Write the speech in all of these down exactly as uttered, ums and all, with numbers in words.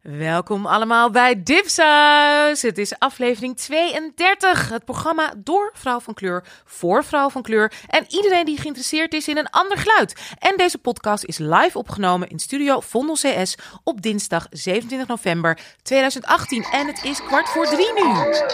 Welkom allemaal bij Dipsaus. Het is aflevering tweeëndertig. Het programma door vrouw van kleur, voor vrouw van kleur en iedereen die geïnteresseerd is in een ander geluid. En deze podcast is live opgenomen in studio Vondel C S op dinsdag zevenentwintig november tweeduizend achttien. En het is kwart voor drie nu.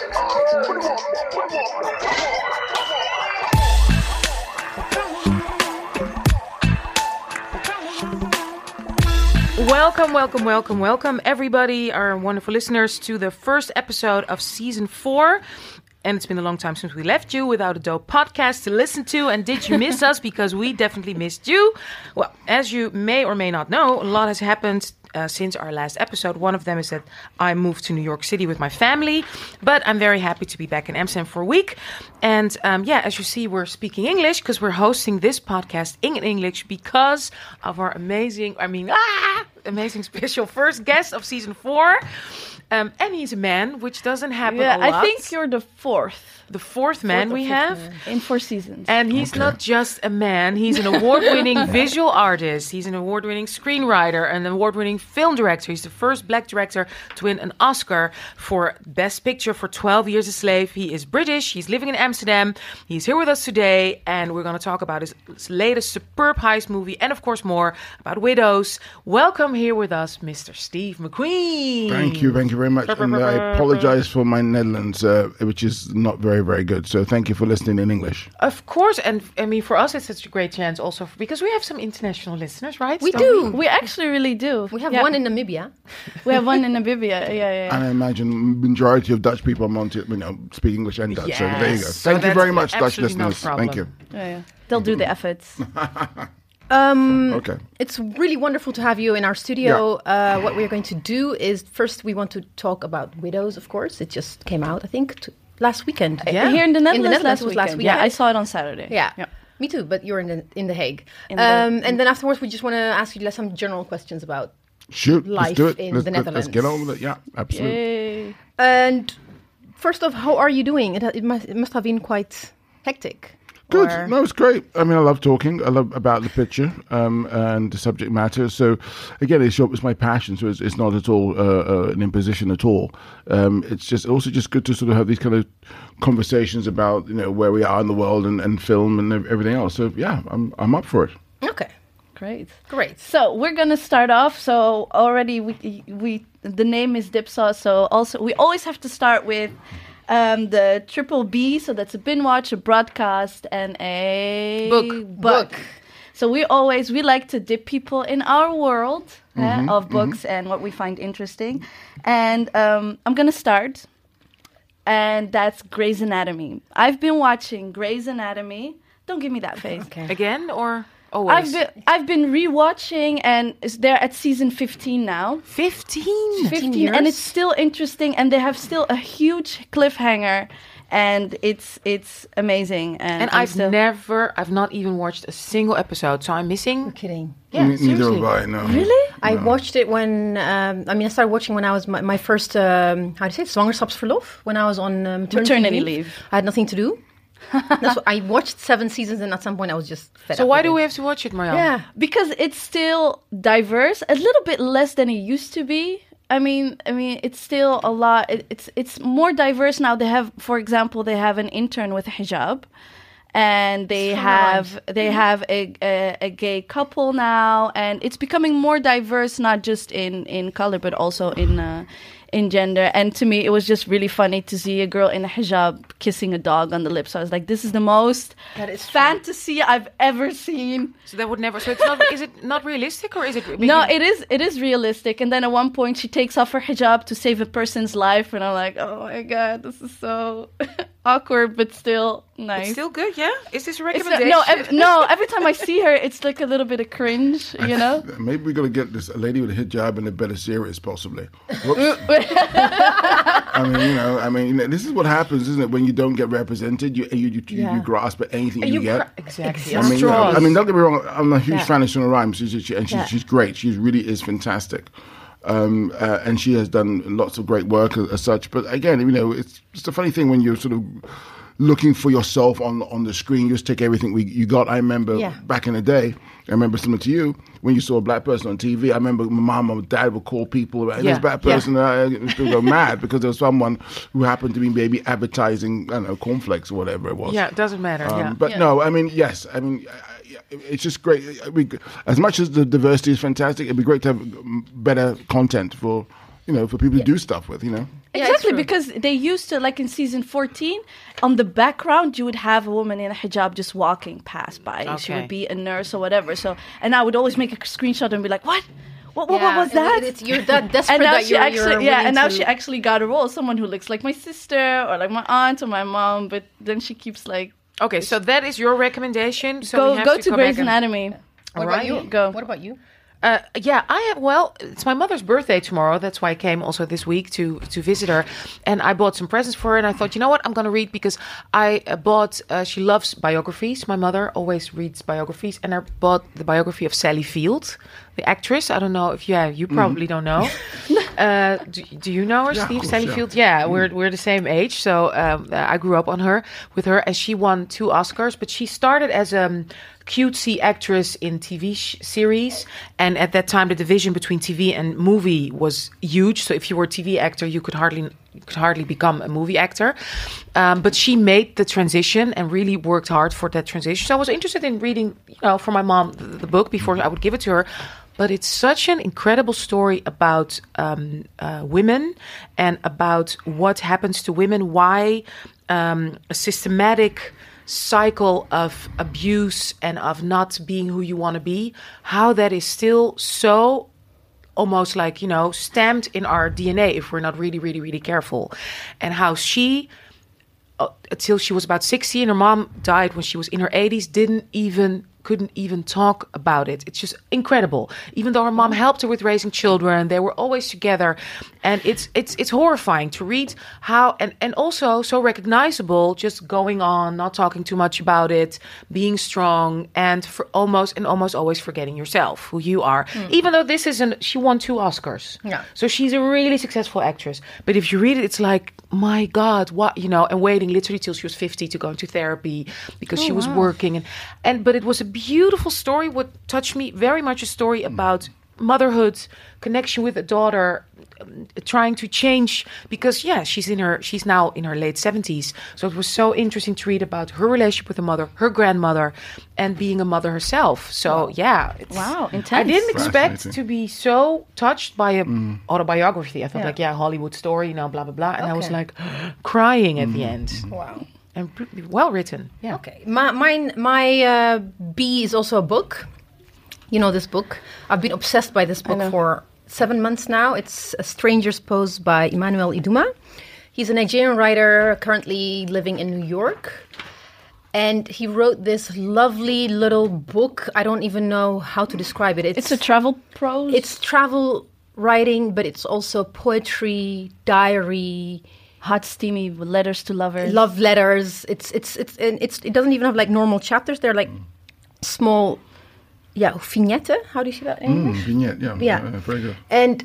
Welcome, welcome, welcome, welcome, everybody, our wonderful listeners, to the first episode of season four. And it's been a long time since we left you without a dope podcast to listen to. And did you miss us? Because we definitely missed you. Well, as you may or may not know, a lot has happened uh, since our last episode. One of them is that I moved to New York City with my family. But I'm very happy to be back in Amsterdam for a week. And um, yeah, as you see, we're speaking English because we're hosting this podcast in English because of our amazing, I mean, ah, amazing special first guest of season four. Um, and he's a man, which doesn't happen yeah, a lot. I think you're the fourth. The fourth man fourth we have. Man. In four seasons. And he's okay. Not just a man. He's an award-winning visual artist. He's an award-winning screenwriter, an award-winning film director. He's the first black director to win an Oscar for Best Picture for twelve Years a Slave. He is British. He's living in Amsterdam. He's here with us today. And we're going to talk about his latest superb heist movie. And of course more about widows. Welcome here with us, Mister Steve McQueen. Thank you. Thank you very much. And I apologize for my Netherlands, uh, which is not very, very good. So thank you for listening in English. Of course. And I mean, for us, it's such a great chance also for, because we have some international listeners, right? We Don't do. We? we actually really do. We have yeah. one in Namibia. We have one in Namibia. Yeah, yeah, yeah. And I imagine majority of Dutch people want to, you know, speak English and Dutch. Yes. So there you go. So Thank you very much, Dutch no listeners. problem. Thank you. Yeah, yeah. They'll do the efforts. Um, okay. It's really wonderful to have you in our studio. Yeah. Uh, what we're going to do is first we want to talk about widows, of course. It just came out, I think, t- last weekend. Yeah. Here in the Netherlands, in the Netherlands last was weekend. last weekend. Yeah, I saw it on Saturday. Yeah. yeah. Me too, but you're in the in the Hague. In the, um, and then afterwards, we just want to ask you some general questions about Shoot, life let's do it. in let's, the let's, Netherlands. Let's get on with it. Yeah, absolutely. Yay. And first off, how are you doing? It, it must it must have been quite hectic. Good. Or... No, it's great. I mean, I love talking. I love about the picture um, and the subject matter. So, again, it's, it's my passion. So it's, it's not at all uh, uh, an imposition at all. Um, it's just also just good to sort of have these kind of conversations about, you know, where we are in the world and, and film and everything else. So yeah, I'm I'm up for it. Okay. Great. Great. So we're gonna start off. So already we we the name is Dipsaus. So also we always have to start with. Um, the triple B, so that's a bin watch, a broadcast, and a book. book. book. So we always, we like to dip people in our world mm-hmm, uh, of books mm-hmm. and what we find interesting. And um, I'm going to start, and that's Grey's Anatomy. I've been watching Grey's Anatomy. Don't give me that face. Okay. Again, or... Always. I've been I've been rewatching, and they're at season fifteen now. Fifteen, fifteen, years? And it's still interesting, and they have still a huge cliffhanger, and it's it's amazing. And, and I've still... never, I've not even watched a single episode, so I'm missing. You're kidding. Yeah, N- seriously. Neither have I. No. Really? I No. watched it when, um, I mean, I started watching when I was my, my first, um, how do you say it, zwangerschapsverlof, when I was on um, maternity, Maternity leave. leave. I had nothing to do. That's what, I watched seven seasons, and at some point I was just fed So up why with do it. we have to watch it, Marjan? Yeah. Because it's still diverse, a little bit less than it used to be. I mean, I mean, it's still a lot. It, it's it's more diverse now. They have, for example, they have an intern with a hijab, and they have they have a, a a gay couple now, and it's becoming more diverse, not just in in color, but also in. Uh, in gender. And to me, it was just really funny to see a girl in a hijab kissing a dog on the lips. So I was like, this is the most That is fantasy I've ever seen. So that would never. So it's not. Is it not realistic, or is it? No, it is it is realistic. And then at one point, she takes off her hijab to save a person's life. And I'm like, oh my God, this is so awkward, but still nice. It's still good, yeah? Is this a It's recommendation? not- no, ev- no, every time I see her, it's like a little bit of cringe, you know? Maybe we're going to get this a lady with a hijab in a better series, possibly. Whoops. I mean, you know, I mean, you know, this is what happens, isn't it? When you don't get represented, you you you, Yeah. you grasp at anything you, You get. cra- Exactly. I mean, you know, Straws. I mean, don't get me wrong. I'm a huge Yeah. fan of Shona Rhimes, she's, she, and she's, Yeah. she's great. She really is fantastic, um, uh, and she has done lots of great work as, as such. But again, you know, it's just a funny thing when you're sort of looking for yourself on on the screen. You just take everything we you got. I remember Yeah. back in the day. I remember similar to you when you saw a black person on T V. I remember my mom or dad would call people about Yeah, this black yeah. person. And I people go mad because there was someone who happened to be maybe advertising, I don't know, cornflacks or whatever it was. Yeah, it doesn't matter. Um, yeah. But Yeah. no, I mean, yes, I mean, I- I- it's just great. It'd be- As much as the diversity is fantastic, it'd be great to have um, better content for, you know, for people to do stuff with, you know. Yeah, it's Exactly, true. because they used to, like in season fourteen, on the background, you would have a woman in a hijab just walking past by. She Okay. would be a nurse or whatever. So, and I would always make a screenshot and be like, what? What, what, Yeah, what was and that? it- it's, you're that desperate and now that she you're, actually, you're yeah, willing and now to- she actually got a role, someone who looks like my sister or like my aunt or my mom, but then she keeps like, Okay, so that is your recommendation. So we go have go to to go Grey's back and- Anatomy. What Alright. about you? Go. What about you? Uh, yeah, I have. Well, it's my mother's birthday tomorrow. That's why I came also this week to to visit her, and I bought some presents for her. And I thought, you know what, I'm going to read because I uh, bought. Uh, she loves biographies. My mother always reads biographies, and I bought the biography of Sally Field, the actress. I don't know if yeah, you probably don't know. uh, do, do you know her, Yeah, of Steve? course, Sally yeah. Field. Yeah, we're we're the same age, so um, uh, I grew up on her with her, and she won two Oscars. But she started as a um, cutesy actress in T V sh- series, and at that time the division between T V and movie was huge. So if you were a T V actor, you could hardly you could hardly become a movie actor. Um, but she made the transition and really worked hard for that transition. So I was interested in reading, you know, for my mom the, the book before I would give it to her. But it's such an incredible story about um, uh, women and about what happens to women, why um, a systematic cycle of abuse and of not being who you want to be, how that is still so almost like, you know, stamped in our D N A if we're not really, really, really careful. And how she, uh, until she was about sixty and her mom died when she was in her eighties, didn't even couldn't even talk about it. It's just incredible. Even though her mom helped her with raising children, they were always together. And it's it's it's horrifying to read how, and, and also so recognizable, just going on, not talking too much about it, being strong, and for almost and almost always forgetting yourself, who you are. Even though this isn't, she won two Oscars. Yeah. So she's a really successful actress. But if you read it, it's like, my God, what, you know, and waiting literally till she was fifty to go into therapy because she was working. And, and but it was a beautiful story. What touched me very much, a story about motherhood, connection with a daughter, um, trying to change because yeah, she's in her she's now in her late seventies. So it was so interesting to read about her relationship with her mother, her grandmother, and being a mother herself. So yeah, it's, Wow, I intense. didn't expect Fascinating. to be so touched by a autobiography. I thought Yeah. like yeah, Hollywood story, you know, blah blah blah, and I was Okay. like crying at the end. Wow. And pr- well written. Yeah. Okay, my mine, my uh, B is also a book. You know this book. I've been obsessed by this book know. for seven months now. It's A Stranger's Pose by Emmanuel Iduma. He's a Nigerian writer currently living in New York. And he wrote this lovely little book. I don't even know how to describe it. It's a travel prose. It's travel writing, but it's also poetry, diary, hot, steamy letters to lovers. love letters. It's it's it's and it's it doesn't even have like normal chapters. They're like small, yeah, vignette. How do you say that in English? Mm, vignette, yeah, Yeah. uh, very good. And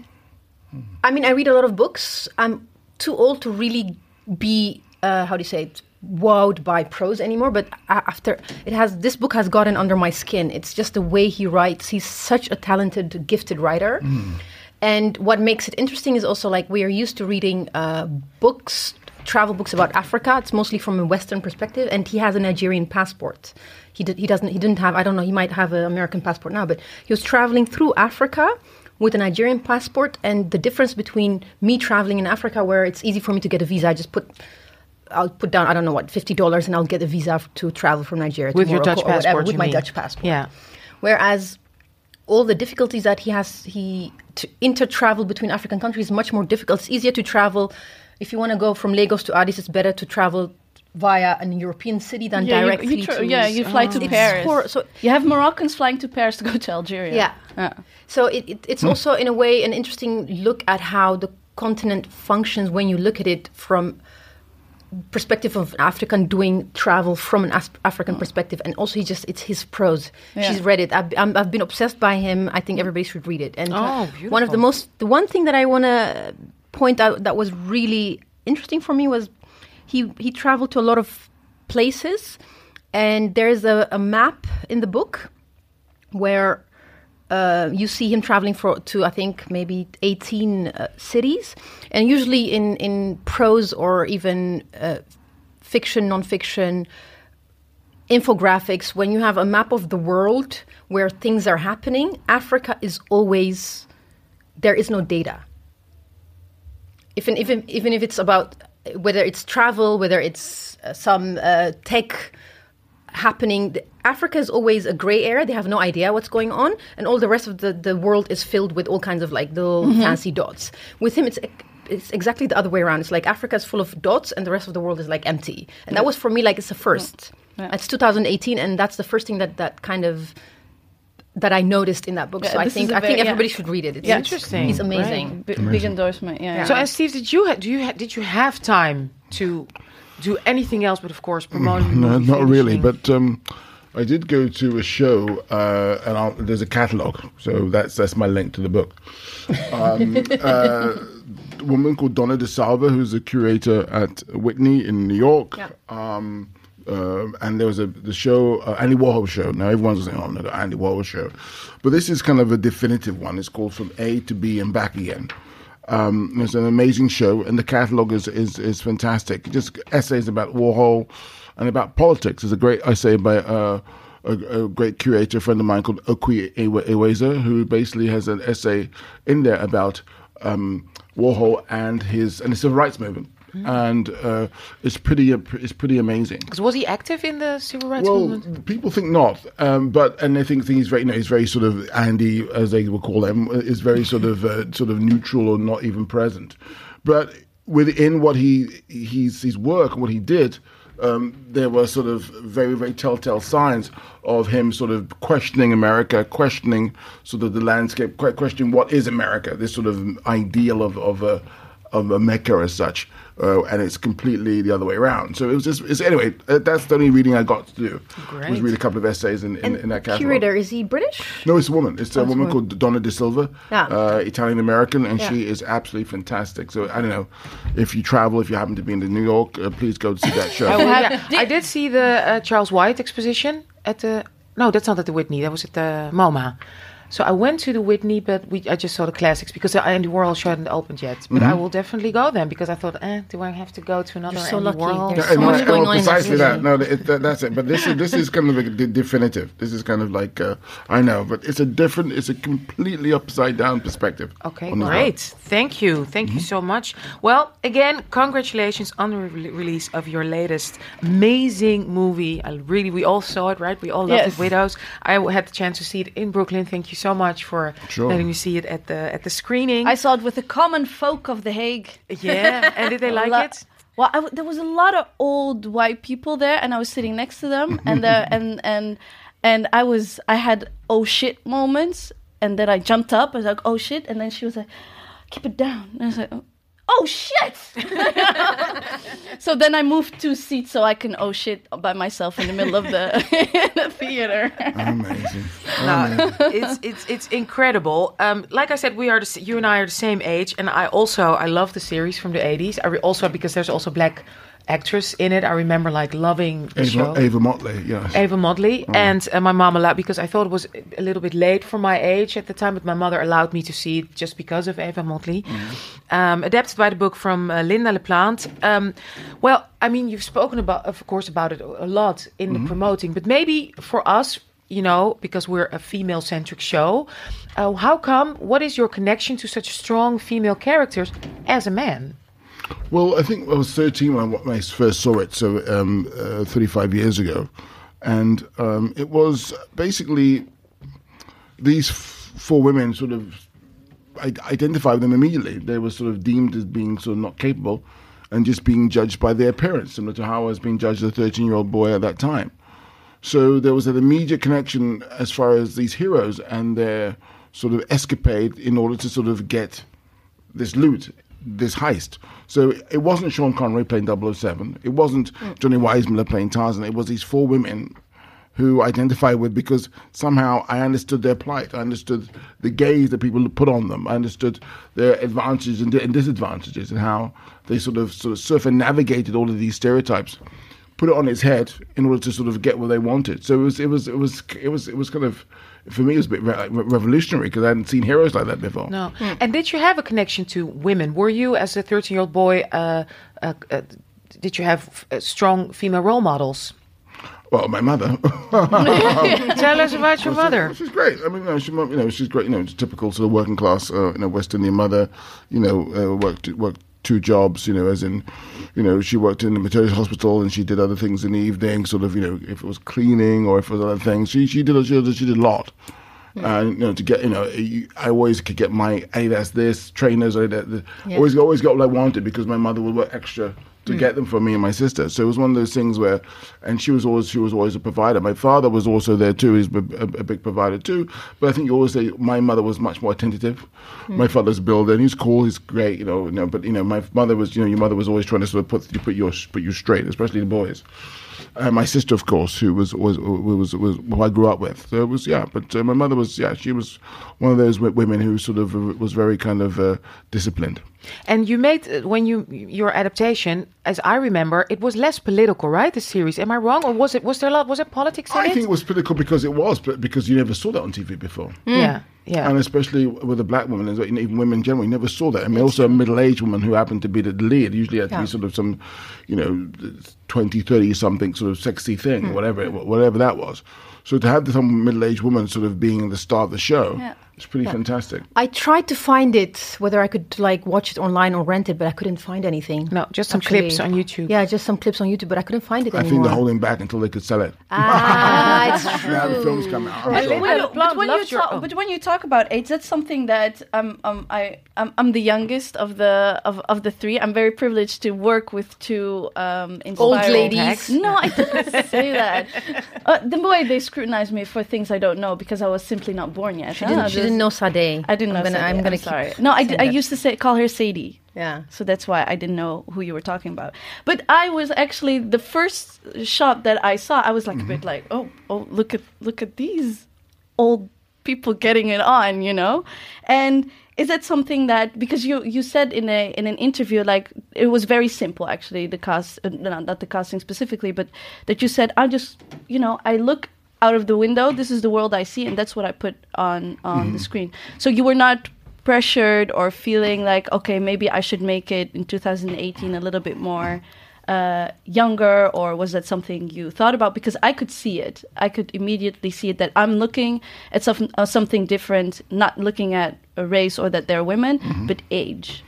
I mean, I read a lot of books. I'm too old to really be uh, how do you say it, wowed by prose anymore. But a- after it has this book has gotten under my skin. It's just the way he writes. He's such a talented, gifted writer. And what makes it interesting is also like we are used to reading uh, books, travel books about Africa. It's mostly from a Western perspective, and he has a Nigerian passport. He did, he doesn't he didn't have I don't know he might have an American passport now, but he was traveling through Africa with a Nigerian passport. And the difference between me traveling in Africa, where it's easy for me to get a visa, I just put. I'll put down I don't know what fifty dollars and I'll get a visa to travel from Nigeria to With your Morocco Dutch or whatever, passport, with you my mean? Dutch passport. Yeah. Whereas all the difficulties that he has, he to inter-travel between African countries is much more difficult. It's easier to travel. If you want to go from Lagos to Addis, it's better to travel via an European city than yeah, directly you, you tra- to... yeah, you fly to It's Paris. hor- so You have Moroccans flying to Paris to go to Algeria. Yeah. Yeah. So it, it, it's also, in a way, an interesting look at how the continent functions when you look at it from perspective of an African doing travel from an As- African perspective. And also, he just it's his prose. Yeah. She's read it. I've, I'm, I've been obsessed by him. I think everybody should read it. And Oh, uh, beautiful. one of the most, the one thing that I want to point out that was really interesting for me was he he traveled to a lot of places. And there's a, a map in the book where uh, you see him traveling for to, I think, maybe eighteen uh, cities. And usually in, in prose or even uh, fiction, non-fiction, infographics, when you have a map of the world where things are happening, Africa is always, there is no data. Even, even, even if it's about, whether it's travel, whether it's uh, some uh, tech happening, Africa is always a gray area. They have no idea what's going on. And all the rest of the, the world is filled with all kinds of like little mm-hmm. fancy dots. With him, it's it's exactly the other way around. It's like Africa is full of dots and the rest of the world is like empty. And that was for me like it's a first. Yeah. It's two thousand eighteen and that's the first thing that, that kind of that I noticed in that book. Yeah, so I think I very, think everybody yeah. should read it. It's yeah. interesting. It's amazing. Right. B- amazing. Big endorsement. Yeah. yeah. So, and Steve, did you ha- do you ha- did you have time to do anything else but, of course, promoting? No, not finishing? really. But um, I did go to a show, uh, and I'll, there's a catalogue, so that's that's my link to the book. Um, uh, a woman called Donna DeSalva, who's a curator at Whitney in New York. Yeah. Um, uh, and there was a the show, uh, Andy Warhol show. Now everyone's saying, "Oh no, the Andy Warhol show," but this is kind of a definitive one. It's called From A to B and Back Again. Um, it's an amazing show, and the catalogue is, is is fantastic. Just essays about Warhol and about politics. There's a great essay by uh, a, a great curator friend of mine called Okwi Eweza, who basically has an essay in there about um, Warhol and his and the civil rights movement. Mm-hmm. And uh, it's pretty it's pretty amazing. Because was he active in the civil rights well, movement? Well, people think not, um, but and they think, think he's very, you know, he's very sort of Andy, as they will call him, is very sort of uh, sort of neutral or not even present. But within what he he's his work and what he did, um, there were sort of very very telltale signs of him sort of questioning America, questioning sort of the landscape, questioning what is America, this sort of ideal of of a of a Mecca as such. Uh, and it's completely the other way around. So it was just, it's, anyway, uh, that's the only reading I got to do. Great. Was read a couple of essays in, in, in that catalogue. Curator, is he British? No, it's a woman. It's a oh, woman called Donna DeSilva, yeah. uh, Italian-American, and yeah. she is absolutely fantastic. So I don't know, if you travel, if you happen to be in New York, uh, please go to see that show. I, will, yeah. I did see the uh, Charles White exposition at the, no, that's not at the Whitney, that was at the MoMA. So I went to the Whitney, but we I just saw the classics because the Andy Warhol show hadn't opened yet. But mm-hmm. I will definitely go then because I thought, eh, do I have to go to another You're so Andy lucky. Warhol? There's yeah, so no, much going no, on precisely in that. No, it, that, that's it. But this is this is kind of a de- definitive. This is kind of like uh, I know, but it's a different, it's a completely upside down perspective. Okay, great. Thank you, thank mm-hmm. you so much. Well, again, congratulations on the re- release of your latest amazing movie. I really, we all saw it, right? We all loved yes. it, Widows. I had the chance to see it in Brooklyn. Thank you so much for. Sure. Letting me see it at the at the screening. I saw it with the common folk of The Hague. Yeah, and did they like lo- it? Well, I w- there was a lot of old white people there, and I was sitting next to them, and uh, and and and I was I had oh shit moments, and then I jumped up. I was like oh shit, and then she was like, keep it down, and I was like. Oh. Oh shit! So then I moved two seats so I can oh shit by myself in the middle of the, the theater. Amazing. No, it's it's it's incredible. Um, like I said, we are the, you and I are the same age, and I also I love the series from the eighties. I re- also because there's also black actress in it. I remember like loving the Ava, show. Ava Motley, yes. Ava Motley. Oh. And uh, my mom allowed, because I thought it was a little bit late for my age at the time, but my mother allowed me to see it just because of Ava Motley. Mm. Um, adapted by the book from uh, Linda LaPlante. Um, well, I mean, you've spoken about, of course, about it a lot in mm-hmm. the promoting, but maybe for us, you know, because we're a female-centric show, uh, how come, what is your connection to such strong female characters as a man? Well, I think I was thirteen when I first saw it, so um, uh, thirty-five years ago. And um, it was basically these f- four women sort of, I identified them immediately. They were sort of deemed as being sort of not capable and just being judged by their appearance, similar to how I was being judged as a thirteen-year-old boy at that time. So there was an immediate connection as far as these heroes and their sort of escapade in order to sort of get this loot, this heist. So it wasn't Sean Connery playing double oh seven. It wasn't Johnny Weissmuller playing Tarzan. It was these four women who I identified with because somehow I understood their plight. I understood the gaze that people put on them. I understood their advantages and disadvantages and how they sort of sort of circumnavigated all of these stereotypes. put it on its head in order to sort of get what they wanted. So it was, it was, it was, it was, it was kind of, for me, it was a bit re- revolutionary because I hadn't seen heroes like that before. No. Mm. And did you have a connection to women? Were you, as a thirteen-year-old boy, uh, uh, uh, did you have uh, strong female role models? Well, my mother. Tell us about your well, mother. She's, she's great. I mean, you know, she, you know, she's great. You know, typical sort of working class, uh, you know, West Indian mother. You know, uh, worked worked two jobs. You know, as in, you know, she worked in the maternity hospital and she did other things in the evening. Sort of, you know, if it was cleaning or if it was other things, she she did a, she did, she did a lot. And you know, to get you know, you, I always could get my Adidas this trainers. Or that, yeah. always always got what I wanted because my mother would work extra to mm. get them for me and my sister. So it was one of those things where, and she was always she was always a provider. My father was also there too. He's a, a, a big provider too. But I think you always say my mother was much more attentive. Mm. My father's a builder, and he's cool. He's great, you know. You know, but you know, my mother was, you know, your mother was always trying to sort of put you put your put you straight, especially the boys. Uh, my sister, of course, who was was was was who I grew up with. So it was yeah, but uh, my mother was yeah, she was one of those w- women who sort of uh, was very kind of uh, disciplined. And you made uh, when you your adaptation, as I remember, it was less political, right? The series, am I wrong, or was it was there a lot? Was it politics in I it? think it was political because it was, but because you never saw that on T V before. Mm. Yeah. Yeah. And especially with a black woman, and even women in general, you never saw that. I mean, also a middle-aged woman who happened to be the lead. Usually had to yeah. be sort of some, you know, twenty, thirty-something sort of sexy thing, mm. whatever it, whatever that was. So to have some middle-aged woman sort of being the star of the show, yeah. it's pretty yeah. fantastic. I tried to find it, whether I could like watch it online or rent it, but I couldn't find anything. No, just some Actually, clips on YouTube. Yeah, just some clips on YouTube, but I couldn't find it I anymore. I think they're holding back until they could sell it. Ah, it's true. Now the films come out. But, Sure. but, but, when you talk, oh. but when you talk about AIDS, that's something that um, um, I I'm, I'm the youngest of the of, of the three. I'm very privileged to work with two um, old ladies. No, I didn't say that. Uh, the way they scrutinize me for things I don't know because I was simply not born yet. She didn't, ah, she didn't know Sade. I didn't know. I'm gonna, Sadie. I'm gonna I'm sorry. No, I, I used to say call her Sadie. Yeah. So that's why I didn't know who you were talking about. But I was actually the first shot that I saw. I was like mm-hmm. a bit like, oh, oh, look at look at these old people getting it on, you know. And is that something that because you you said in a in an interview like it was very simple actually the cast uh, not, not the casting specifically, but that you said I just you know I look out of the window. This is the world I see, and that's what I put on on mm-hmm. the screen. So you were not pressured or feeling like, okay, maybe I should make it in two thousand eighteen a little bit more uh, younger, or was that something you thought about? Because I could see it. I could immediately see it that I'm looking at some, uh, something different, not looking at a race or that they're women, mm-hmm. but age.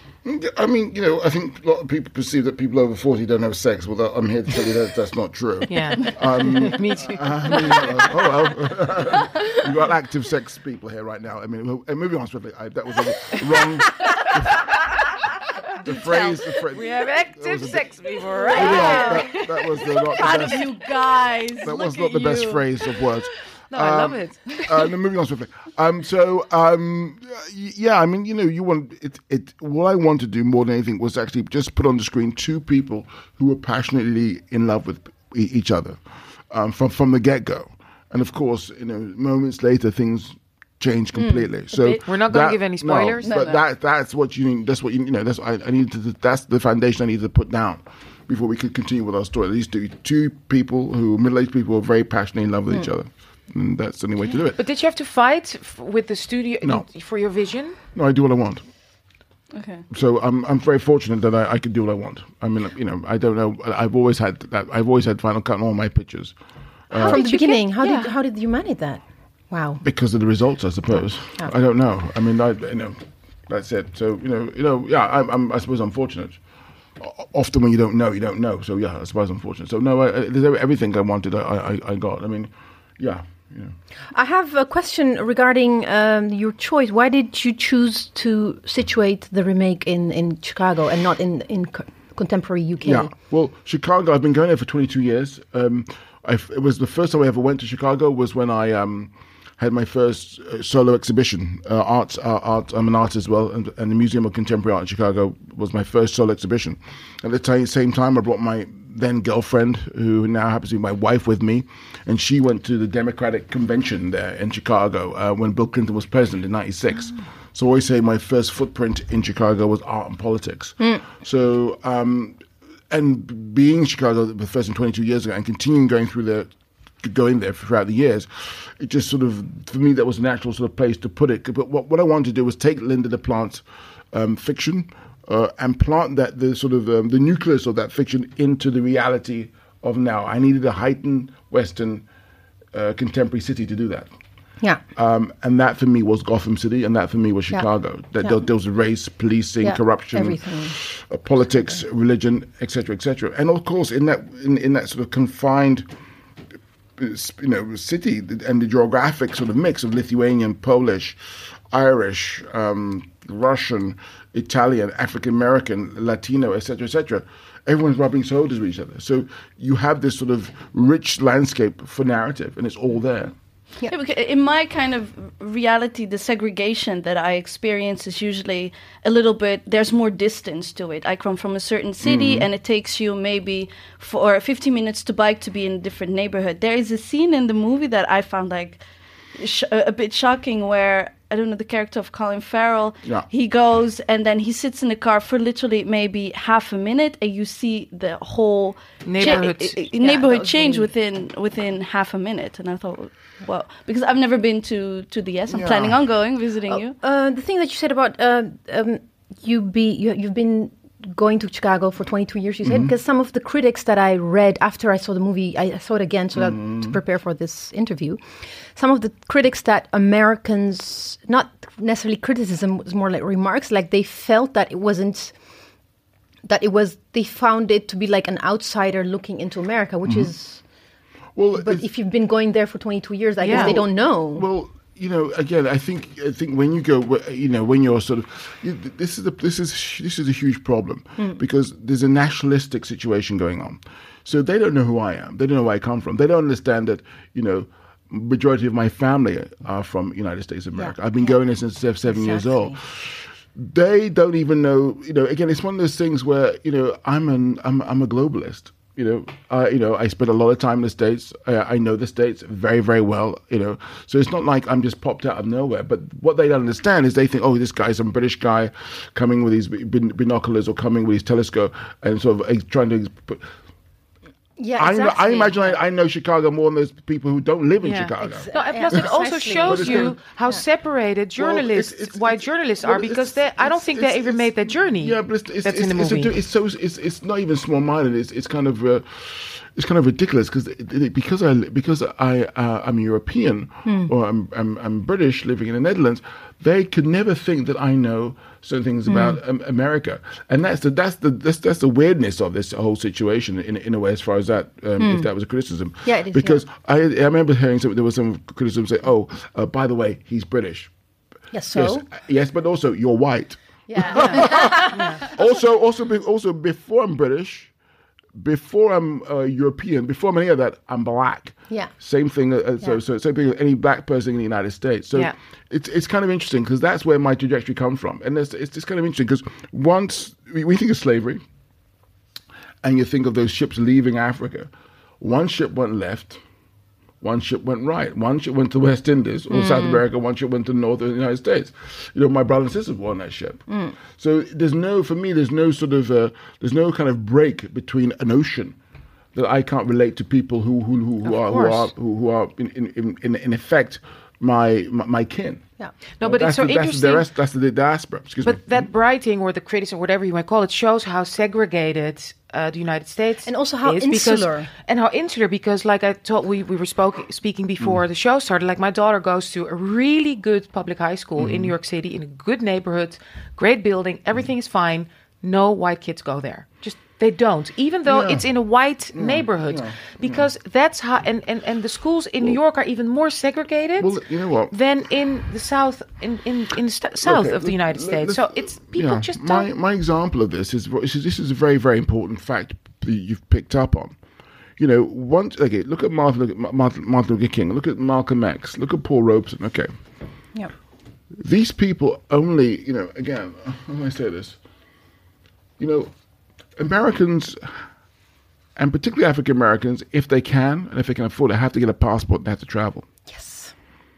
I mean, you know, I think a lot of people perceive that people over forty don't have sex. Well, I'm here to tell you that that's not true. Yeah, um, me too. I mean, uh, oh well, you've got active sex people here right now. I mean, well, moving on swiftly, I, that was a wrong. The, the phrase, the phrase. We have active sex bit, people right now. That, that was the, not the best. Of you guys. That was not the best you. phrase of words. No, I um, love it. uh, no, moving on swiftly. Um, so, um, yeah, I mean, you know, you want it. It. What I want to do more than anything was actually just put on the screen two people who were passionately in love with e- each other um, from from the get go. And of course, you know, moments later, things change completely. Mm, so we're not going to give any spoilers. No, no, but no. that that's what you need. That's what you, you know. That's what I, I need to. That's the foundation I need to put down before we could continue with our story. These two two people who middle-aged people who are very passionately in love with mm. each other. And that's the only way to do it. But did you have to fight f- with the studio no. for your vision? No, I do what I want. Okay. So I'm I'm very fortunate that I, I can do what I want. I mean, you know, I don't know. I've always had that. I've always had Final Cut on all my pictures. Uh, From the beginning, get, how yeah. did how did you manage that? Wow. Because of the results, I suppose. Oh. I don't know. I mean, I you know, that's it. So you know, you know, yeah. I'm, I'm I suppose I'm fortunate. Often when you don't know, you don't know. So yeah, I suppose I'm fortunate. So no, I, there's everything I wanted. I, I I got. I mean, yeah. Yeah. I have a question regarding um, your choice. Why did you choose to situate the remake in, in Chicago and not in, in co- contemporary U K? Yeah, well, Chicago, I've been going there for twenty-two years. Um, I've, it was the first time I ever went to Chicago was when I um, had my first uh, solo exhibition. Uh, art, uh, art, I'm an artist as well, and, and the Museum of Contemporary Art in Chicago was my first solo exhibition. At the t- same time, I brought my then girlfriend, who now happens to be my wife, with me, and she went to the Democratic Convention there in Chicago uh, when Bill Clinton was president in ninety-six. Oh. So I always say my first footprint in Chicago was art and politics. Mm. So um, and being in Chicago the first and twenty-two years ago, and continuing going through the going there throughout the years, it just sort of, for me, that was a natural sort of place to put it. But what, what I wanted to do was take Linda de Plant's um, fiction uh, and plant that the sort of um, the nucleus of that fiction into the reality of now. I needed a heightened Western uh, contemporary city to do that. Yeah. Um, and that for me was Gotham City, and that for me was Chicago. Yeah. That yeah. there, there was race, policing, yeah. corruption, uh, politics, religion, et cetera, et cetera. And of course, in that in, in that sort of confined, you know, city and the geographic sort of mix of Lithuanian, Polish, Irish, um, Russian, Italian, African American, Latino, et cetera, et cetera. Everyone's rubbing shoulders with each other. So you have this sort of rich landscape for narrative, and it's all there. Yeah. Yeah, because in my kind of reality, the segregation that I experience is usually a little bit, there's more distance to it. I come from a certain city mm-hmm. and it takes you maybe for fifteen minutes to bike to be in a different neighborhood. There is a scene in the movie that I found like sh- a bit shocking where, I don't know, the character of Colin Farrell, yeah. he goes and then he sits in the car for literally maybe half a minute and you see the whole neighborhood, cha- yeah, neighborhood change really... within within half a minute. And I thought, well, because I've never been to, to the U S. I'm yeah. planning on going, visiting uh, you. Uh, the thing that you said about uh, um, you be you, you've been going to Chicago for twenty-two years, you said, because mm-hmm. some of the critics that I read after I saw the movie, I saw it again so mm-hmm. that to prepare for this interview. Some of the critics that Americans, not necessarily criticism, was more like remarks, like they felt that it wasn't, that it was, they found it to be like an outsider looking into America, which mm-hmm. is, well, but if you've been going there for twenty-two years, I yeah. guess they don't know. Well, you know, again, I think I think when you go, you know, when you're sort of, this is a this is this is a huge problem mm. because there's a nationalistic situation going on. So they don't know who I am. They don't know where I come from. They don't understand that, you know, majority of my family are from United States of America. Yeah. I've been yeah. going there since seven exactly. years old. They don't even know, you know. Again, it's one of those things where, you know, I'm an I'm I'm a globalist. You know, uh, you know, I spent a lot of time in the States. Uh, I know the States very, very well. You know, so it's not like I'm just popped out of nowhere. But what they don't understand is they think, oh, this guy's some British guy coming with his bin- binoculars or coming with his telescope and sort of uh, trying to. Put, Yeah, exactly. I, I imagine I, I know Chicago more than those people who don't live in yeah. Chicago. Ex- no, plus yeah. it also shows you gonna, how yeah. separated journalists, well, it's, it's, white journalists well, are, because they, I don't think they ever made that journey. Yeah, but it's, it's, that's it's, in the movie. It's, a, it's so it's it's not even small-minded. It's it's kind of uh, it's kind of ridiculous because because I because I uh, I'm European hmm. or I'm, I'm I'm British living in the Netherlands. They could never think that I know certain things about mm. um, America, and that's the that's the that's, that's the weirdness of this whole situation in in a way. As far as that, um, mm. if that was a criticism, yeah, it is, because yeah. I I remember hearing some, there was some criticism say, oh, uh, by the way, he's British. Yes, so yes, yes, but also you're white. Yeah. yeah. yeah. Also, also, be, also before I'm British. Before I'm uh, European, before I'm any of that, I'm black. Yeah. Same thing. Uh, yeah. So, so same thing with any black person in the United States. So, yeah. it's it's kind of interesting because that's where my trajectory comes from, and it's it's just kind of interesting because once we, we think of slavery, and you think of those ships leaving Africa, one ship went left, one ship went right, one ship went to West Indies or mm. South America, one ship went to North of the United States. You know, my brother and sisters were on that ship. Mm. So there's no, for me, there's no sort of, uh, there's no kind of break between an ocean that I can't relate to people who who who, who are who are who, who are in in, in in effect my my, my kin. Yeah. No, but that's it's so the, interesting. That's the, that's the diaspora. Excuse but me. that writing or the criticism, whatever you might call it, shows how segregated uh, the United States and also how is insular because, and how insular. Because, like I told, we we were spoke, speaking before mm. the show started. Like my daughter goes to a really good public high school mm. in New York City in a good neighborhood, great building. Everything mm. is fine. No white kids go there. Just. They don't, even though yeah. it's in a white yeah. neighborhood, yeah. because yeah. that's how. And, and, and the schools in well, New York are even more segregated. Well, you know what? Than in the south, in in, in the st- south okay, of the United let, States. So it's people yeah, just. My don't... my example of this is this is a very very important fact that you've picked up on. You know, once okay, look at Martin, look at Martin, Martin Luther King, look at Malcolm X, look at Paul Robeson. Okay. Yeah. These people only, you know, again, how do I say this? You know. Americans, and particularly African Americans, if they can and if they can afford it, have to get a passport and have to travel. Yes.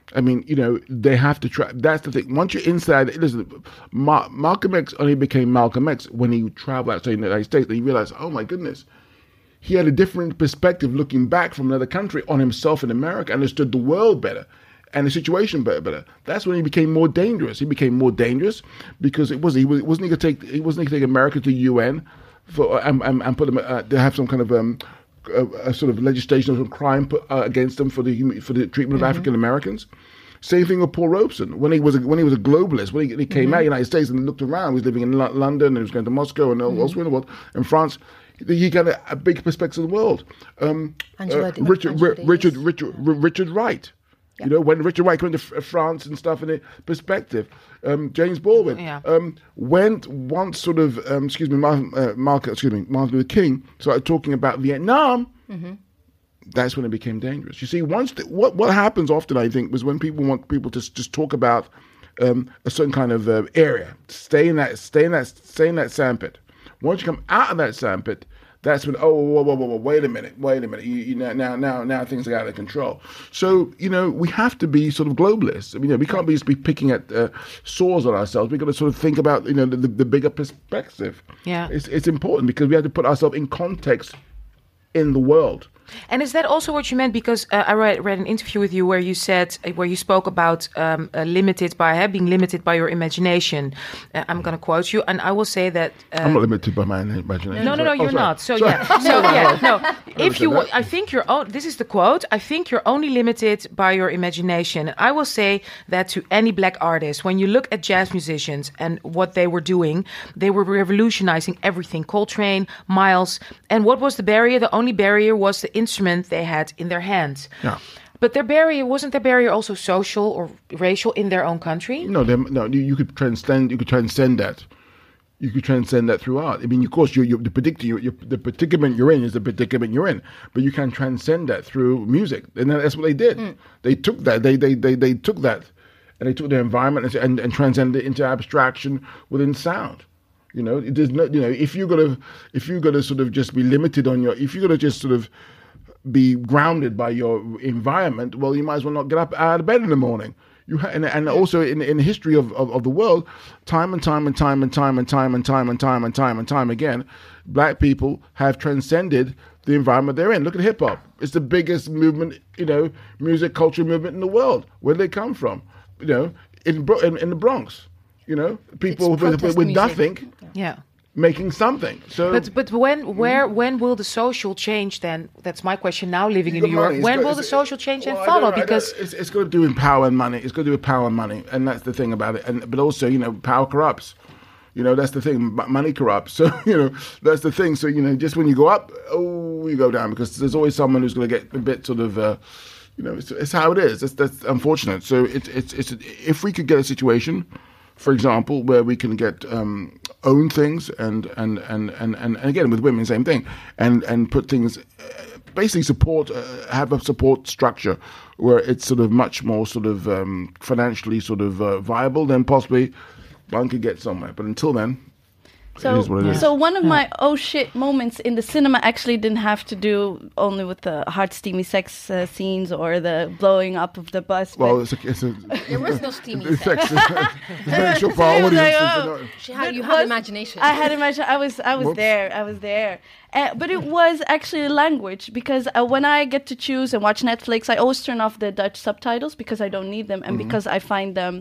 I mean, you know, they have to try. That's the thing. Once you're inside, listen, Ma- Malcolm X only became Malcolm X when he traveled outside the United States. And he realized, oh my goodness, he had a different perspective looking back from another country on himself in America, understood the world better and the situation better. better. That's when he became more dangerous. He became more dangerous because it was he was wasn't he going to take he wasn't going to take America to the U N for and, and, and put them uh, to have some kind of um, a, a sort of legislation of some crime put, uh, against them for the for the treatment of mm-hmm. African Americans. Same thing with Paul Robeson when he was a, when he was a globalist. When he, he came mm-hmm. out of the United States and looked around, he was living in L- London and he was going to Moscow and mm-hmm. elsewhere in the world, in France. He got a, a big perspective of the world. Um, Angela, uh, Richard, Angela R- Richard, Richard, R- Richard Wright. Yeah. You know, when Richard Wright went to F- France and stuff in the perspective. Um, James Baldwin yeah. um, went once sort of, um, excuse me, Martin, uh, Mark, excuse me, Martin Luther King started talking about Vietnam. Mm-hmm. That's when it became dangerous. You see, once the, what what happens often, I think, was when people want people to just talk about um, a certain kind of uh, area, stay in that, stay in that, stay in that sandpit. Once you come out of that sandpit, that's when, oh, whoa, whoa, whoa, whoa, wait a minute, wait a minute. You, you know, now, now, now things are out of control. So, you know, we have to be sort of globalists. I mean, you know, we can't be just be picking at uh, sores on ourselves. We've got to sort of think about, you know, the, the, the bigger perspective. Yeah. It's, it's important because we have to put ourselves in context in the world. And is that also what you meant? Because uh, I read, read an interview with you where you said, uh, where you spoke about um, uh, limited by uh, being limited by your imagination. Uh, I'm going to quote you, and I will say that uh, I'm not limited by my imagination. No, no, no, oh, you're sorry. not. So sorry. yeah, so yeah, no. If you, that. I think you're. Oh, this is the quote. I think you're only limited by your imagination. I will say that to any black artist. When you look at jazz musicians and what they were doing, they were revolutionizing everything. Coltrane, Miles, and what was the barrier? The only barrier was the instrument they had in their hands. Yeah. But their barrier, wasn't their barrier also social or racial in their own country? No, no. You, you could transcend. You could transcend that. You could transcend that through art. I mean, of course, you're, you're the predictor. You're, you're, the predicament you're in is the predicament you're in. But you can transcend that through music, and that's what they did. Mm. They took that. They, they they they took that, and they took their environment and, and, and transcended it into abstraction within sound. You know, it is not. You know, if you're gonna if you're gonna sort of just be limited on your, if you're gonna just sort of be grounded by your environment, well, you might as well not get up out of bed in the morning. You ha- and, and also in in the history of, of, of the world, time and time and time and time and time and time and time and time and time again, black people have transcended the environment they're in. Look at hip hop; it's the biggest movement, you know, music culture movement in the world. Where did they come from? You know, in Bro- in, in the Bronx. You know, people with, with, with nothing. Yeah. Making something. So, but but when where when will the social change then? That's my question now. Living in New York, money. when got, will the social change well, then follow? I Because it's, it's got to do with power and money. It's got to do with power and money, and that's the thing about it. And but also, you know, power corrupts. You know, that's the thing. Money corrupts. So you know, that's the thing. So you know, just when you go up, oh, you go down because there's always someone who's going to get a bit sort of. Uh, you know, it's, it's how it is. That's that's unfortunate. So it's it's it's if we could get a situation, for example, where we can get um, own things and and, and, and, and and again with women, same thing, and and put things, uh, basically support, uh, have a support structure where it's sort of much more sort of um, financially sort of uh, viable, then possibly one could get somewhere. But until then. So, yeah. so one of my oh shit moments in the cinema actually didn't have to do only with the hard steamy sex uh, scenes or the blowing up of the bus. Well, it's a, it's a, there was no steamy sex. sex. It's sure for our audience. Like, oh. She had, you had imagination. I had imagination. I was, I was Whoops. there. I was there. Uh, but it was actually a language because uh, when I get to choose and watch Netflix, I always turn off the Dutch subtitles because I don't need them and mm-hmm. because I find them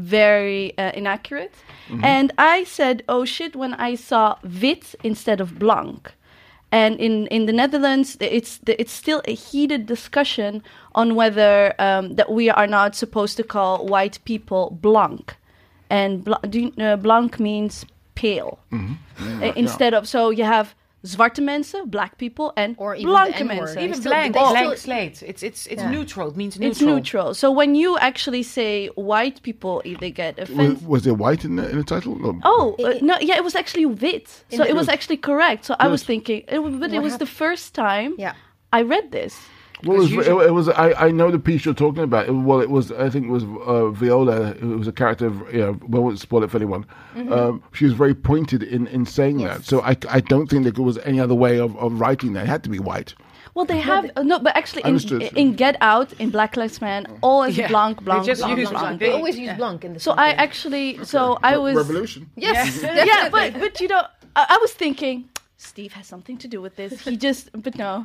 very uh, inaccurate. Mm-hmm. And I said, oh shit, when I saw wit instead of blank. And in, in the Netherlands, it's it's still a heated discussion on whether um, that we are not supposed to call white people blank. And bl- do you, uh, blank means pale. Mm-hmm. Yeah, uh, instead yeah. of, so you have zwarte mensen, black people, and or even blanke the mensen. Even still, blank, still, blank slate. It's it's it's yeah. neutral. It means neutral. It's neutral. So when you actually say white people, they get offended. Was, was there white in the, in the title? No. Oh It- uh, it- no! Yeah, it was actually wit. So the- it was actually correct. So I was Good. thinking, it, was- but it What was the first time Yeah. I read this. Well, it was, usually- it, it was. I, I know the piece you're talking about. It, well, it was. I think it was uh, Viola. It was a character. Of, you know, we won't spoil it for anyone. Mm-hmm. Um, she was very pointed in, in saying Yes. that. So I, I don't think there was any other way of, of writing that. It had to be white. Well, they have uh, no, but actually, in, Understood. in Get Out, in Black Lives Matter, always Yeah. Blanc, They Blanc, just Blanc, use Blanc. Blanc. They always use Blanc in the So I actually, so I was, Revolution. Yes, yeah, but but you know, I, I was thinking Steve has something to do with this. He just, but no.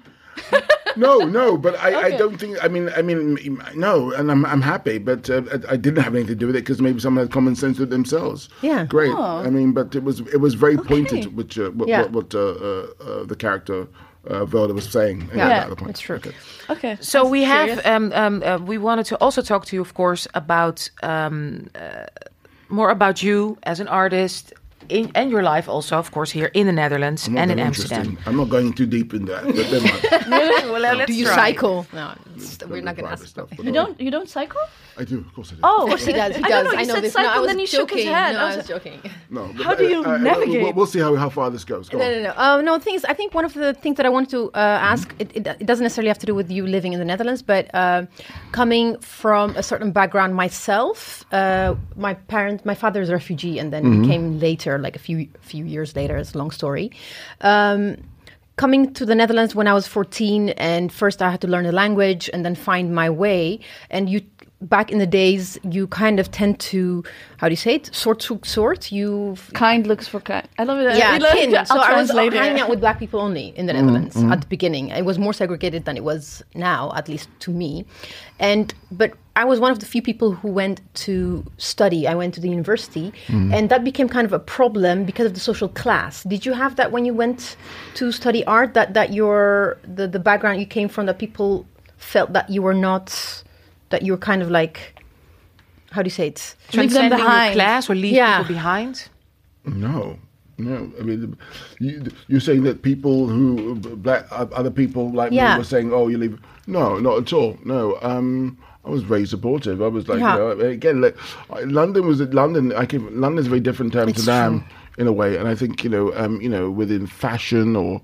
No, no, but I, I Okay. don't think. I mean, I mean, no, and I'm I'm happy, but uh, I I didn't have anything to do with it because maybe someone had common sense with themselves. Yeah. great. Oh. I mean, but it was it was very pointed, which uh, what, Yeah. what, what uh, uh, uh, the character uh, Velda was saying. Yeah, at that point. it's true. Okay. Okay. So we have, Serious? um, um, uh, we wanted to also talk to you, of course, about um, uh, more about you as an artist in, and your life also, of course, here in the Netherlands I'm not and in that Amsterdam. interested. I'm not going too deep in that. But never mind. Well, let's Do you try. cycle? No, it's- we're Very not going to private ask. stuff. but You all don't, you don't cycle? right. I do, of course I do. Oh, Of course he does. He I does. don't know. I You know said this. cycle, no, I was then he shook his joking. head. No, I I was was joking. No, but, How do you navigate? We'll, we'll see how how far this goes. Go No, on. no, no. Uh, no, things. I think one of the things that I wanted to uh, ask, it, it, it doesn't necessarily have to do with you living in the Netherlands, but uh, coming from a certain background myself, uh, my parent, my father is a refugee, and then he came later, like a few few years later. It's a long story. Um, coming to the Netherlands when I was fourteen, and first I had to learn the language and then find my way. And you, back in the days, you kind of tend to, how do you say it? Sort to sort. You Kind looks for kind. I love it. yeah, I love kin. it. So I'll I was translate hanging it. out with black people only in the Netherlands at the beginning. It was more segregated than it was now, at least to me. And but I was one of the few people who went to study. I went to the university, and that became kind of a problem because of the social class. Did you have that when you went to study art? That that your the the background you came from, that people felt that you were not, that you were kind of like, how do you say it? Leave them Transcending your behind. class or leave Yeah. people behind? No, no. I mean, you, you're saying that people who black other people like Yeah. me were saying, "Oh, you leave." No, not at all. No. Um, I was very supportive. I was like, Yeah. you know, again, like, I- London was London. I came. London's very different to Amsterdam in a way, and I think you know, um, you know, within fashion or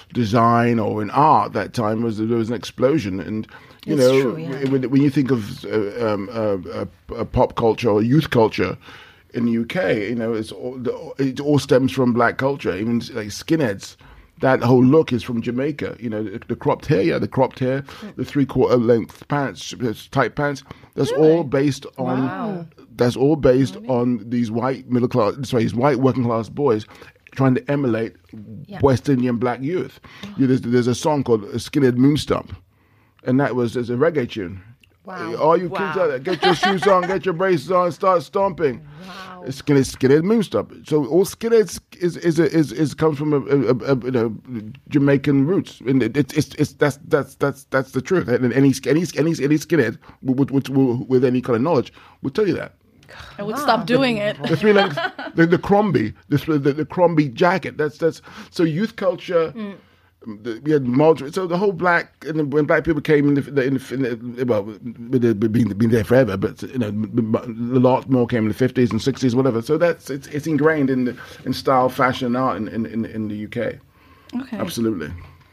design or in art, that time was there was an explosion, and you That's know, true, yeah. when, when you think of uh, um, uh, uh, uh, pop culture or youth culture in the U K, you know, it's all, the, it all stems from black culture. Even like skinheads, that whole look is from Jamaica. You know, the, the cropped hair, yeah, the cropped hair, the three quarter length pants, tight pants. That's all based on. Wow. That's all based on these white middle class, sorry, these white working class boys trying to emulate Yeah. West Indian black youth. You, there's, there's a song called "Skinhead Moonstomp," and that was as a reggae tune. Wow. All you kids Wow. out there, get your shoes on, get your braces on, start stomping. Wow. Skinhead, skinhead moonstomp. So all skinheads is is is is, is comes from a, a, a, a you know Jamaican roots, and it, it's it's it's that's that's that's that's the truth. And any any any any skinhead with with, with, with any kind of knowledge will tell you that. I would stop doing it. The three length, the, the Crombie, the, the the Crombie jacket. That's that's so youth culture. The, we had moderate, so the whole black and then when black people came in the, in the, in the well, they've been been there forever, but you know a lot more came in the fifties and sixties, whatever. So that's it's it's ingrained in the, in style, fashion, and art in in, in, in the U K. Okay. Absolutely.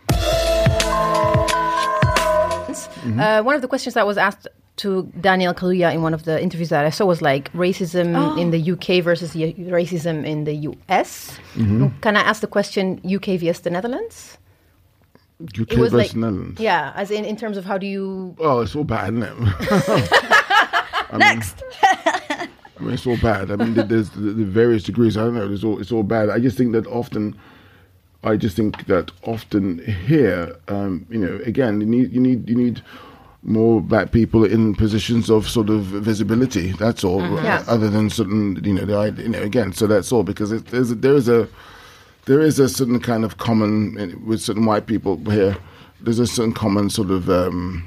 Uh, one of the questions that was asked to Daniel Kaluuya in one of the interviews that I saw was like racism in the U K versus y- racism in the U S. Can I ask the question U K versus the Netherlands? U K It was versus like, Netherlands. yeah, as in in terms of how do you? Oh, it's all bad, isn't it? Next. I mean, it's all bad. I mean, there- there's the, the various degrees. I don't know. It's all it's all bad. I just think that often, I just think that often here, um, you know, again, you need you need you need more black people in positions of sort of visibility. That's all. Yeah. Other than certain, you know, the idea, you know, again. So that's all because it, there's a, there is a there is a certain kind of common with certain white people here. There's a certain common sort of. Um,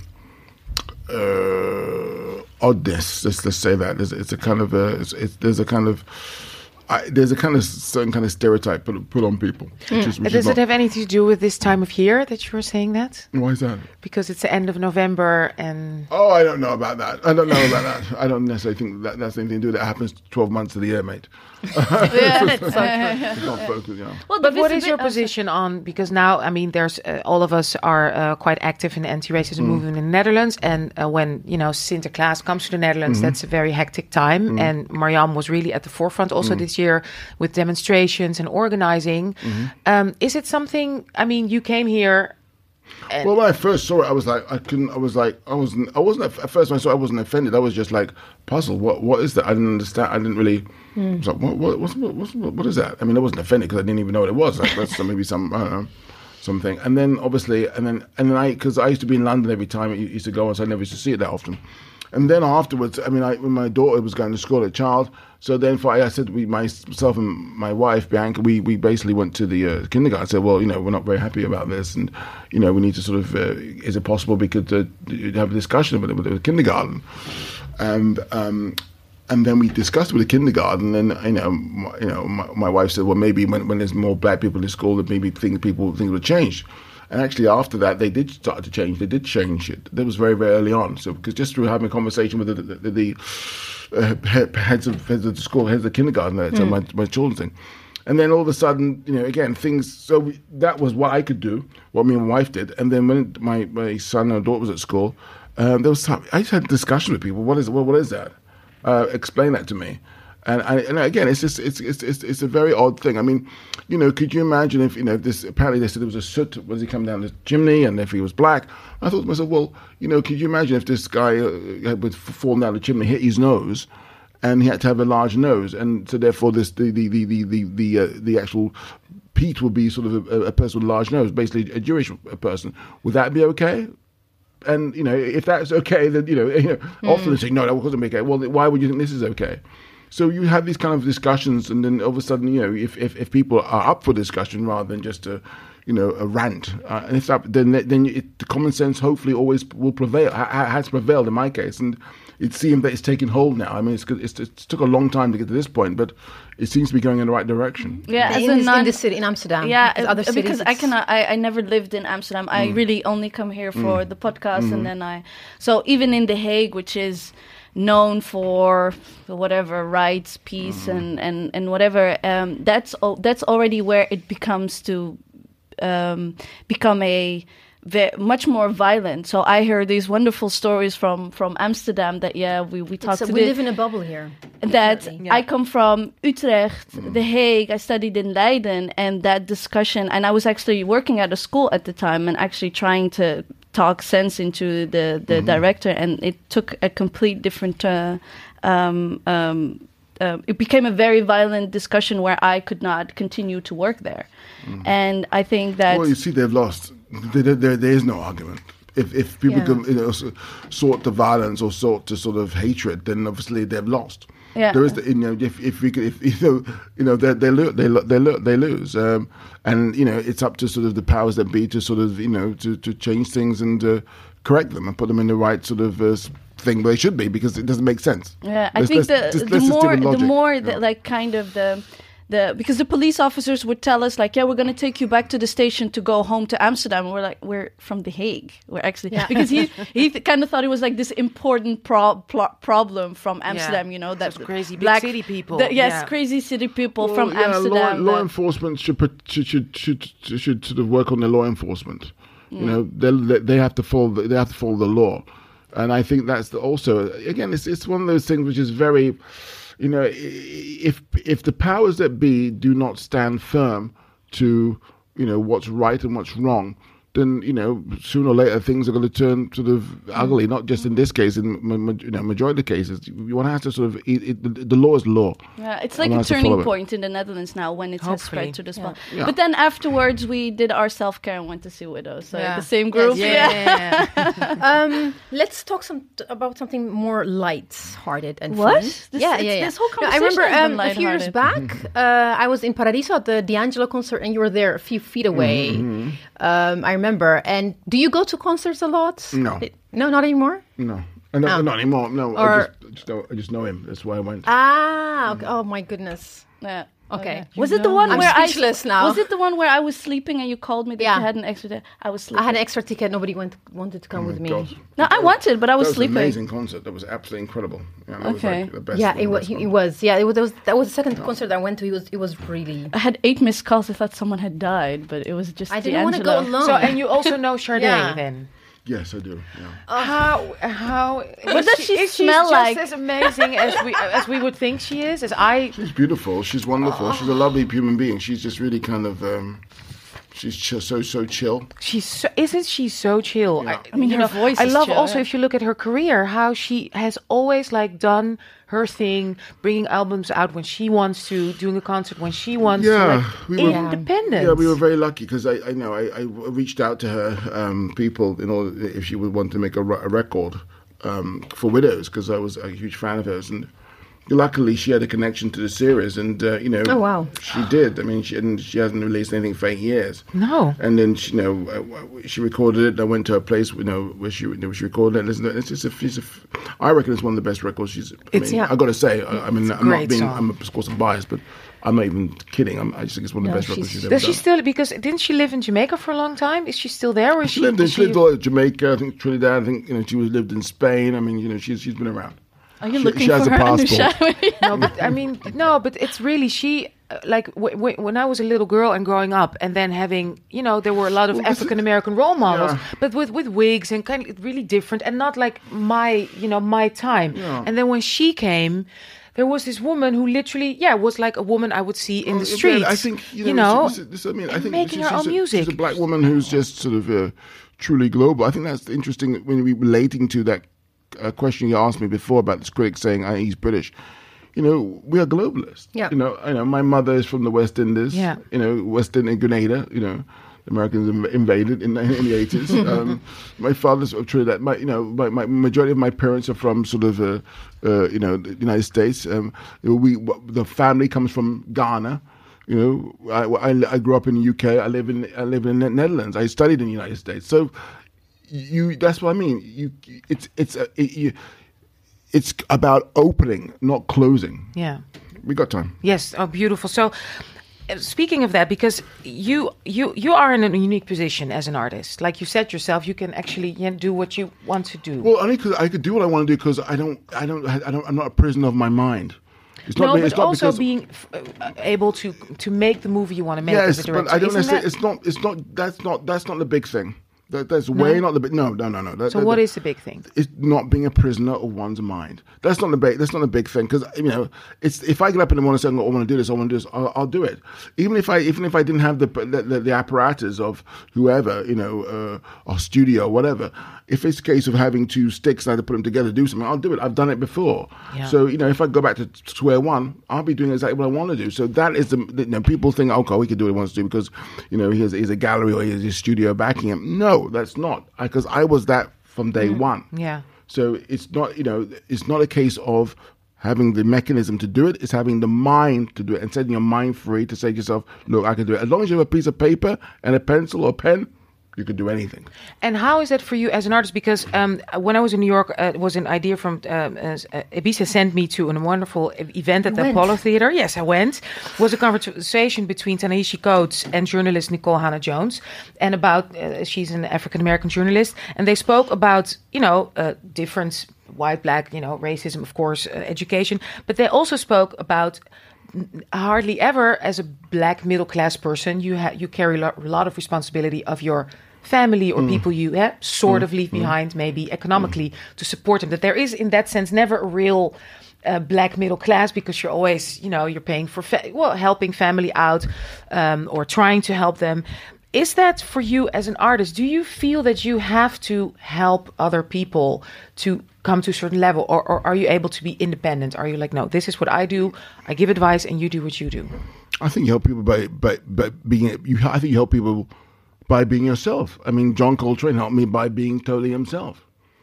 uh, oddness. Let's let's say that there's it's a kind of a it's, it's, there's a kind of I, there's a kind of certain kind of stereotype put, put on people. Which is, which Does is it not, have anything to do with this time of year that you were saying that? why is that? Because it's the end of November and Oh, I don't know about that. I don't know about that. I don't necessarily think that that's anything to do with it. That happens twelve months of the year, mate. It's not focused, you know. Well, But the what is visibi- your uh, position on, because now, I mean, there's uh, all of us are uh, quite active in the anti-racism movement in the Netherlands. And uh, when, you know, Sinterklaas comes to the Netherlands, that's a very hectic time. And Mariam was really at the forefront also this year with demonstrations and organizing. Um, is it something, I mean, you came here And Well, when I first saw it, I was like, I couldn't. I was like, I wasn't. I wasn't at first when I saw it, I wasn't offended. I was just like puzzled. What? What is that? I didn't understand. I didn't really. I was like, what? What? What's, what, what's, what is that? I mean, I wasn't offended because I didn't even know what it was. Like, that's maybe some. I don't know. Something. And then obviously, and then and then I, because I used to be in London every time it used to go on, so I never used to see it that often. And then afterwards, I mean, I, when my daughter was going to school, a child, so then for, I said, we, myself and my wife, Bianca, we, we basically went to the uh, kindergarten. I said, well, you know, we're not very happy about this, and, you know, we need to sort of, uh, is it possible we could uh, have a discussion with, with the kindergarten? And, um, and then we discussed with the kindergarten, and, you know, my, you know, my, my wife said, well, maybe when, when there's more black people in school, that maybe things, people, things will change. And actually, after that, they did start to change. They did change it. That was very, very early on. So, because just through having a conversation with the, the, the uh, heads of heads of the school, heads of the kindergarten, mm. so my my children's thing, and then all of a sudden, you know, again, things. So we, that was what I could do, what me and my wife did. And then when my, my son and daughter was at school, um, there was some, I just had discussion with people. What is what, what is that? Uh, explain that to me. And, I, and again, it's just it's, it's it's it's a very odd thing. I mean, you know, could you imagine if you know this? Apparently, they said there was a soot. Was he coming down the chimney? And if he was black, I thought to myself, well, you know, could you imagine if this guy uh, would fall down the chimney, hit his nose, and he had to have a large nose, and so therefore this the the the the the the, uh, the actual Pete would be sort of a, a person with a large nose, basically a Jewish person. Would that be okay? And you know, if that's okay, then you know, you know, mm. often they say no, that wasn't okay. Well, why would you think this is okay? So you have these kind of discussions, and then all of a sudden, you know, if, if, if people are up for discussion rather than just a, you know, a rant, uh, and if that, then then it, the common sense hopefully always will prevail. Ha, has prevailed in my case, and it seems that it's taken hold now. I mean, it's, it's it took a long time to get to this point, but it seems to be going in the right direction. Yeah, in, as a non- in the city in Amsterdam. Yeah, because other cities, because I cannot. I, I never lived in Amsterdam. Mm. I really only come here for mm. the podcast, mm-hmm. and then I. So even in The Hague, which is known for whatever rights, peace, mm. and, and, and whatever. Um, that's o- that's already where it becomes to um, become a ve- much more violent. So I heard these wonderful stories from, from Amsterdam that yeah we we talked. A, to we the, live in a bubble here. That yeah. I come from Utrecht, mm. The Hague. I studied in Leiden, and that discussion. And I was actually working at a school at the time, and actually trying to talk sense into the, the mm-hmm. director, and it took a complete different uh, um, um, uh, it became a very violent discussion where I could not continue to work there. Mm-hmm. And I think that... Well, you see, they've lost. There, there, there is no argument. If if people yeah. can, you know, sort to violence or sort to sort of hatred, then obviously they've lost. Yeah. There is, the, you know, if if we could, if you know, you know, they they lose, they lo- they lo- they lose, um, and you know, it's up to sort of the powers that be to sort of, you know, to, to change things and uh, correct them and put them in the right sort of uh, thing where they should be, because it doesn't make sense. Yeah, I let's, think let's, the just, the more the logic, more you know. the, like kind of the. The, because the police officers would tell us like, yeah, we're going to take you back to the station to go home to Amsterdam. And we're like, we're from The Hague. We're actually yeah. because he he th- kind of thought it was like this important pro- pro- problem from Amsterdam. Yeah. You know, that Those crazy big black, city people. The, yes, yeah. crazy city people well, from yeah, Amsterdam. Law, law that, enforcement should, put, should should should should sort of work on their law enforcement. Mm. You know, they they have to follow the, they have to follow the law, and I think that's the, also again it's it's one of those things which is very. You know, if if the powers that be do not stand firm to, you know, what's right and what's wrong, then, you know, sooner or later things are going to turn sort of ugly. Not just in this case, in ma- you know, majority of cases, one has to sort of it, it, the, the law is law. Yeah, it's like a turning point in the Netherlands now when it has spread to this yeah. point. Yeah. But then afterwards we did our self care and went to see Widows. So yeah. the same group. Yes, yeah. yeah. um, let's talk some t- about something more light-hearted and What? fun. This, yeah, it's, yeah, yeah. This whole No, I conversation remember has been um, a few years lighthearted. back, uh, I was in Paradiso at the D'Angelo concert, and you were there a few feet away. Mm-hmm. Um, I remember. And do you go to concerts a lot? No. It, no, not anymore? No, uh, no, Oh. not anymore. No, Or- I just, I just know I just know him. That's why I went. Ah, okay. Oh my goodness. Yeah. Okay. Was it the one I'm where speechless I now. was it the one where I was sleeping and you called me that Yeah. you had an extra day? I was sleeping. I had an extra ticket. Nobody went wanted to come Oh with my me. God. No, I wanted, but I was That was sleeping. an amazing concert. That was absolutely incredible. Yeah, that Okay. was like the best. Yeah, the it was. best It one. was. Yeah, it was. That was, that was the second concert I went to. It was. It was really. I had eight missed calls. I thought someone had died, but it was just I didn't want to go D'Angelo. alone. So, and you also know Sade Yeah. then? Yes, I do. Yeah. How how What does she is smell just like? as amazing as we as we would think she is? As I She's beautiful. She's wonderful. She's a lovely human being. She's just really kind of, um, She's ch- so so chill. She's so, isn't she so chill? Yeah. I mean, you her know, voice I is love chill, also yeah. if you look at her career, how she has always like done her thing, bringing albums out when she wants to, doing a concert when she wants Yeah, to, like we were- independent. Yeah, we were very lucky because I, I know I, I reached out to her um, people in order if she would want to make a, re- a record um, for Widows because I was a huge fan of hers, and luckily she had a connection to the series, and uh, you know, Oh, wow. she did. I mean, she and she hasn't released anything for eight years. No. And then she, you know, uh, she recorded it. And I went to her place, you know, where she, where she recorded it. And listened to it. It's just a, it's a, I reckon it's one of the best records she's. I It's- mean, yeah. I got to say, I, I mean, It's a I'm not great being, song. I'm of course I'm biased, but I'm not even kidding. I'm, I just think it's one of the No, best records she's- she's ever Does done. she still, because didn't she live in Jamaica for a long time? Is she still there? Or is She lived in, is she lived all over Jamaica, I think Trinidad. I think you know she was lived in Spain. I mean, you know, she's she's been around. Are you She- looking she has for a her on the passport. show? No, but I mean, no, but it's really she. uh, Like w- w- when I was a little girl and growing up, and then having, you know, there were a lot of Well, this is- African American role models, Yeah. but with with wigs and kind of really different, and not like my, you know, my time. Yeah. And then when she came, there was this woman who literally, yeah, was like a woman I would see in Well, the again, streets. I think you know. know, this, this, this, I mean, I and think making she's, her she's own a, music. She's a black woman who's just sort of uh, truly global. I think that's interesting when we relating to that uh, question you asked me before about this critic saying uh, he's British. You know, we are globalists. Yeah. You know, I know my mother is from the West Indies. Yeah. You know, West Indies, Grenada. You know. The Americans inv- invaded in, in the eighties. Um, my father's of Trinidad. My, you know, my, my majority of my parents are from sort of, uh, uh, you know, the United States. Um, we the family comes from Ghana. You know, I, I, I grew up in the U K. I live in I live in the Netherlands. I studied in the United States. So, you that's what I mean. You, it's it's a, it, you, it's about opening, not closing. yeah. We got time. Yes. Oh, beautiful. So, uh, speaking of that, because you you you are in a unique position as an artist, like you said yourself, you can actually you know, do what you want to do. Well, only because I could do what I want to do because I don't, I don't, I don't, I'm not a prisoner of my mind. It's no, be- but it's not also because- being f- uh, able to to make the movie you want to make. yes, as a but director. I don't Isn't necessarily. that- It's not. It's not. That's not. That's not the big thing. That, that's way not the big. No, no, no, no. That, So that, what that- is the big thing? It's not being a prisoner of one's mind. That's not the big. That's not a big thing because you know. It's if I get up in the morning and say, "I want to do this. I want to do this." I'll, I'll do it. Even if I, even if I didn't have the the, the, the apparatus of whoever, you know, uh, or studio or whatever. If it's a case of having two sticks and I have to put them together to do something, I'll do it. I've done it before. Yeah. So you know, if I go back to square one, I'll be doing exactly what I want to do. So that is the. the you know, people think, okay, we can do what he wants to do because, you know, he has, he has a gallery or he has his studio backing him. No, that's not. Because I, I was that from day one. Yeah. So it's not, you know, it's not a case of having the mechanism to do it. It's having the mind to do it and setting your mind free to say to yourself, look, I can do it. As long as you have a piece of paper and a pencil or pen, you can do anything. And how is that for you as an artist? Because um, when I was in New York, uh, it was an idea from um, uh, Ibiza sent me to a wonderful e- event at the Went. Apollo Theater. Yes, I went. It was a conversation between Ta-Nehisi Coates and journalist Nicole Hannah-Jones, and about uh, she's an African American journalist, and they spoke about you know uh, difference, white, black, you know, racism, of course, uh, education, but they also spoke about. Hardly ever, as a black middle class person, you ha- you carry a lo- lot of responsibility of your family or people you eh, sort of leave behind, maybe economically, to support them. That there is, in that sense, never a real uh, black middle class because you're always, you know, you're paying for fa- well, helping family out um, or trying to help them. Is that for you as an artist? Do you feel that you have to help other people to come to a certain level, or, or are you able to be independent? Are you like, no, this is what I do. I give advice, and you do what you do. I think you help people by, by, by being, you, I think you help people by being yourself. I mean, John Coltrane helped me by being totally himself.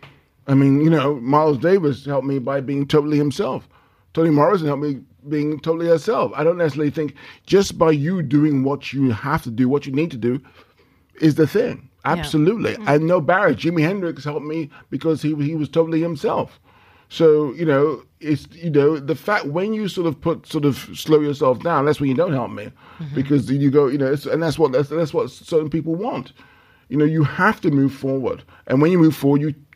I mean, you know, Miles Davis helped me by being totally himself. Toni Morrison helped me being totally herself. I don't necessarily think just by you doing what you have to do, what you need to do, is the thing. Absolutely. Yeah. Mm-hmm. I know Barrett, Jimi Hendrix helped me because he he was totally himself. So, you know, it's, you know, the fact when you sort of put, sort of slow yourself down, that's when you don't help me. Mm-hmm. Because you go, you know, it's, and that's what, that's, that's what certain people want. You know, you have to move forward. And when you move forward, you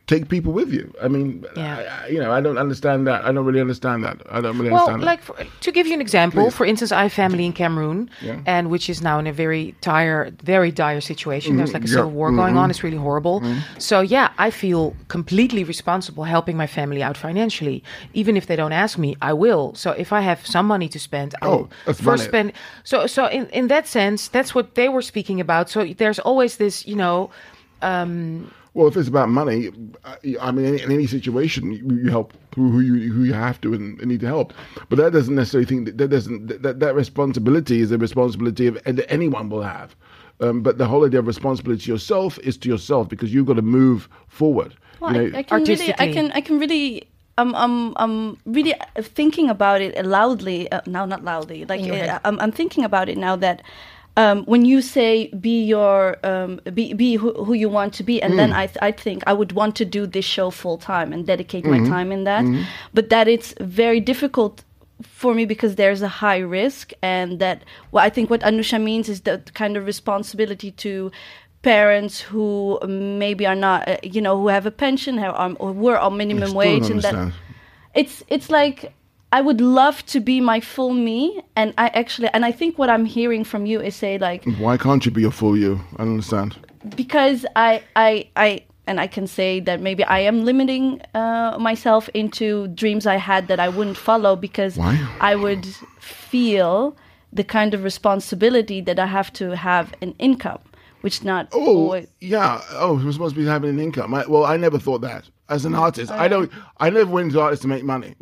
take people with you. I mean, Yeah. I, I, you know, I don't understand that. I don't really understand that. I don't really Well, understand like for, to give you an example, Please. for instance, I have family in Cameroon, Yeah. and which is now in a very dire, very dire situation. There's like a yeah. civil war going Mhm. on. It's really horrible. So yeah, I feel completely responsible helping my family out financially. Even if they don't ask me, I will. So if I have some money to spend, I Oh, will that's first valid. spend. So so in in that sense, that's what they were speaking about. So there's always this, you know. Um, Well, if it's about money, uh, I mean, in, in any situation, you, you help who, who you who you have to and, and need to help. But that doesn't necessarily think that, that doesn't that, that responsibility is a responsibility of that anyone will have. Um, but the whole idea of responsibility to yourself is to yourself because you've got to move forward. Well, you I, know, I can really, I artistically. can, I can really. I'm, I'm, I'm really thinking about it loudly. Uh, no, not loudly. Like In your uh, head. I'm, I'm thinking about it now that um, when you say be your, um, be, be who, who you want to be, and then I, th- I think I would want to do this show full time and dedicate my time in that. But that it's very difficult for me because there's a high risk, and that well, I think what Anusha means is the kind of responsibility to parents who maybe are not, uh, you know, who have a pension, have, um, or were on I minimum still wage, don't and that understand. it's it's like I would love to be my full me, and I actually, and I think what I'm hearing from you is say like Why can't you be a full you? I don't understand. because I I I. And I can say that maybe I am limiting uh, myself into dreams I had that I wouldn't follow because Why? I would feel the kind of responsibility that I have to have an income, which not Oh, always. yeah. Oh, we're supposed to be having an income. I, well, I never thought that. As an artist, I don't. I never went into artists to make money.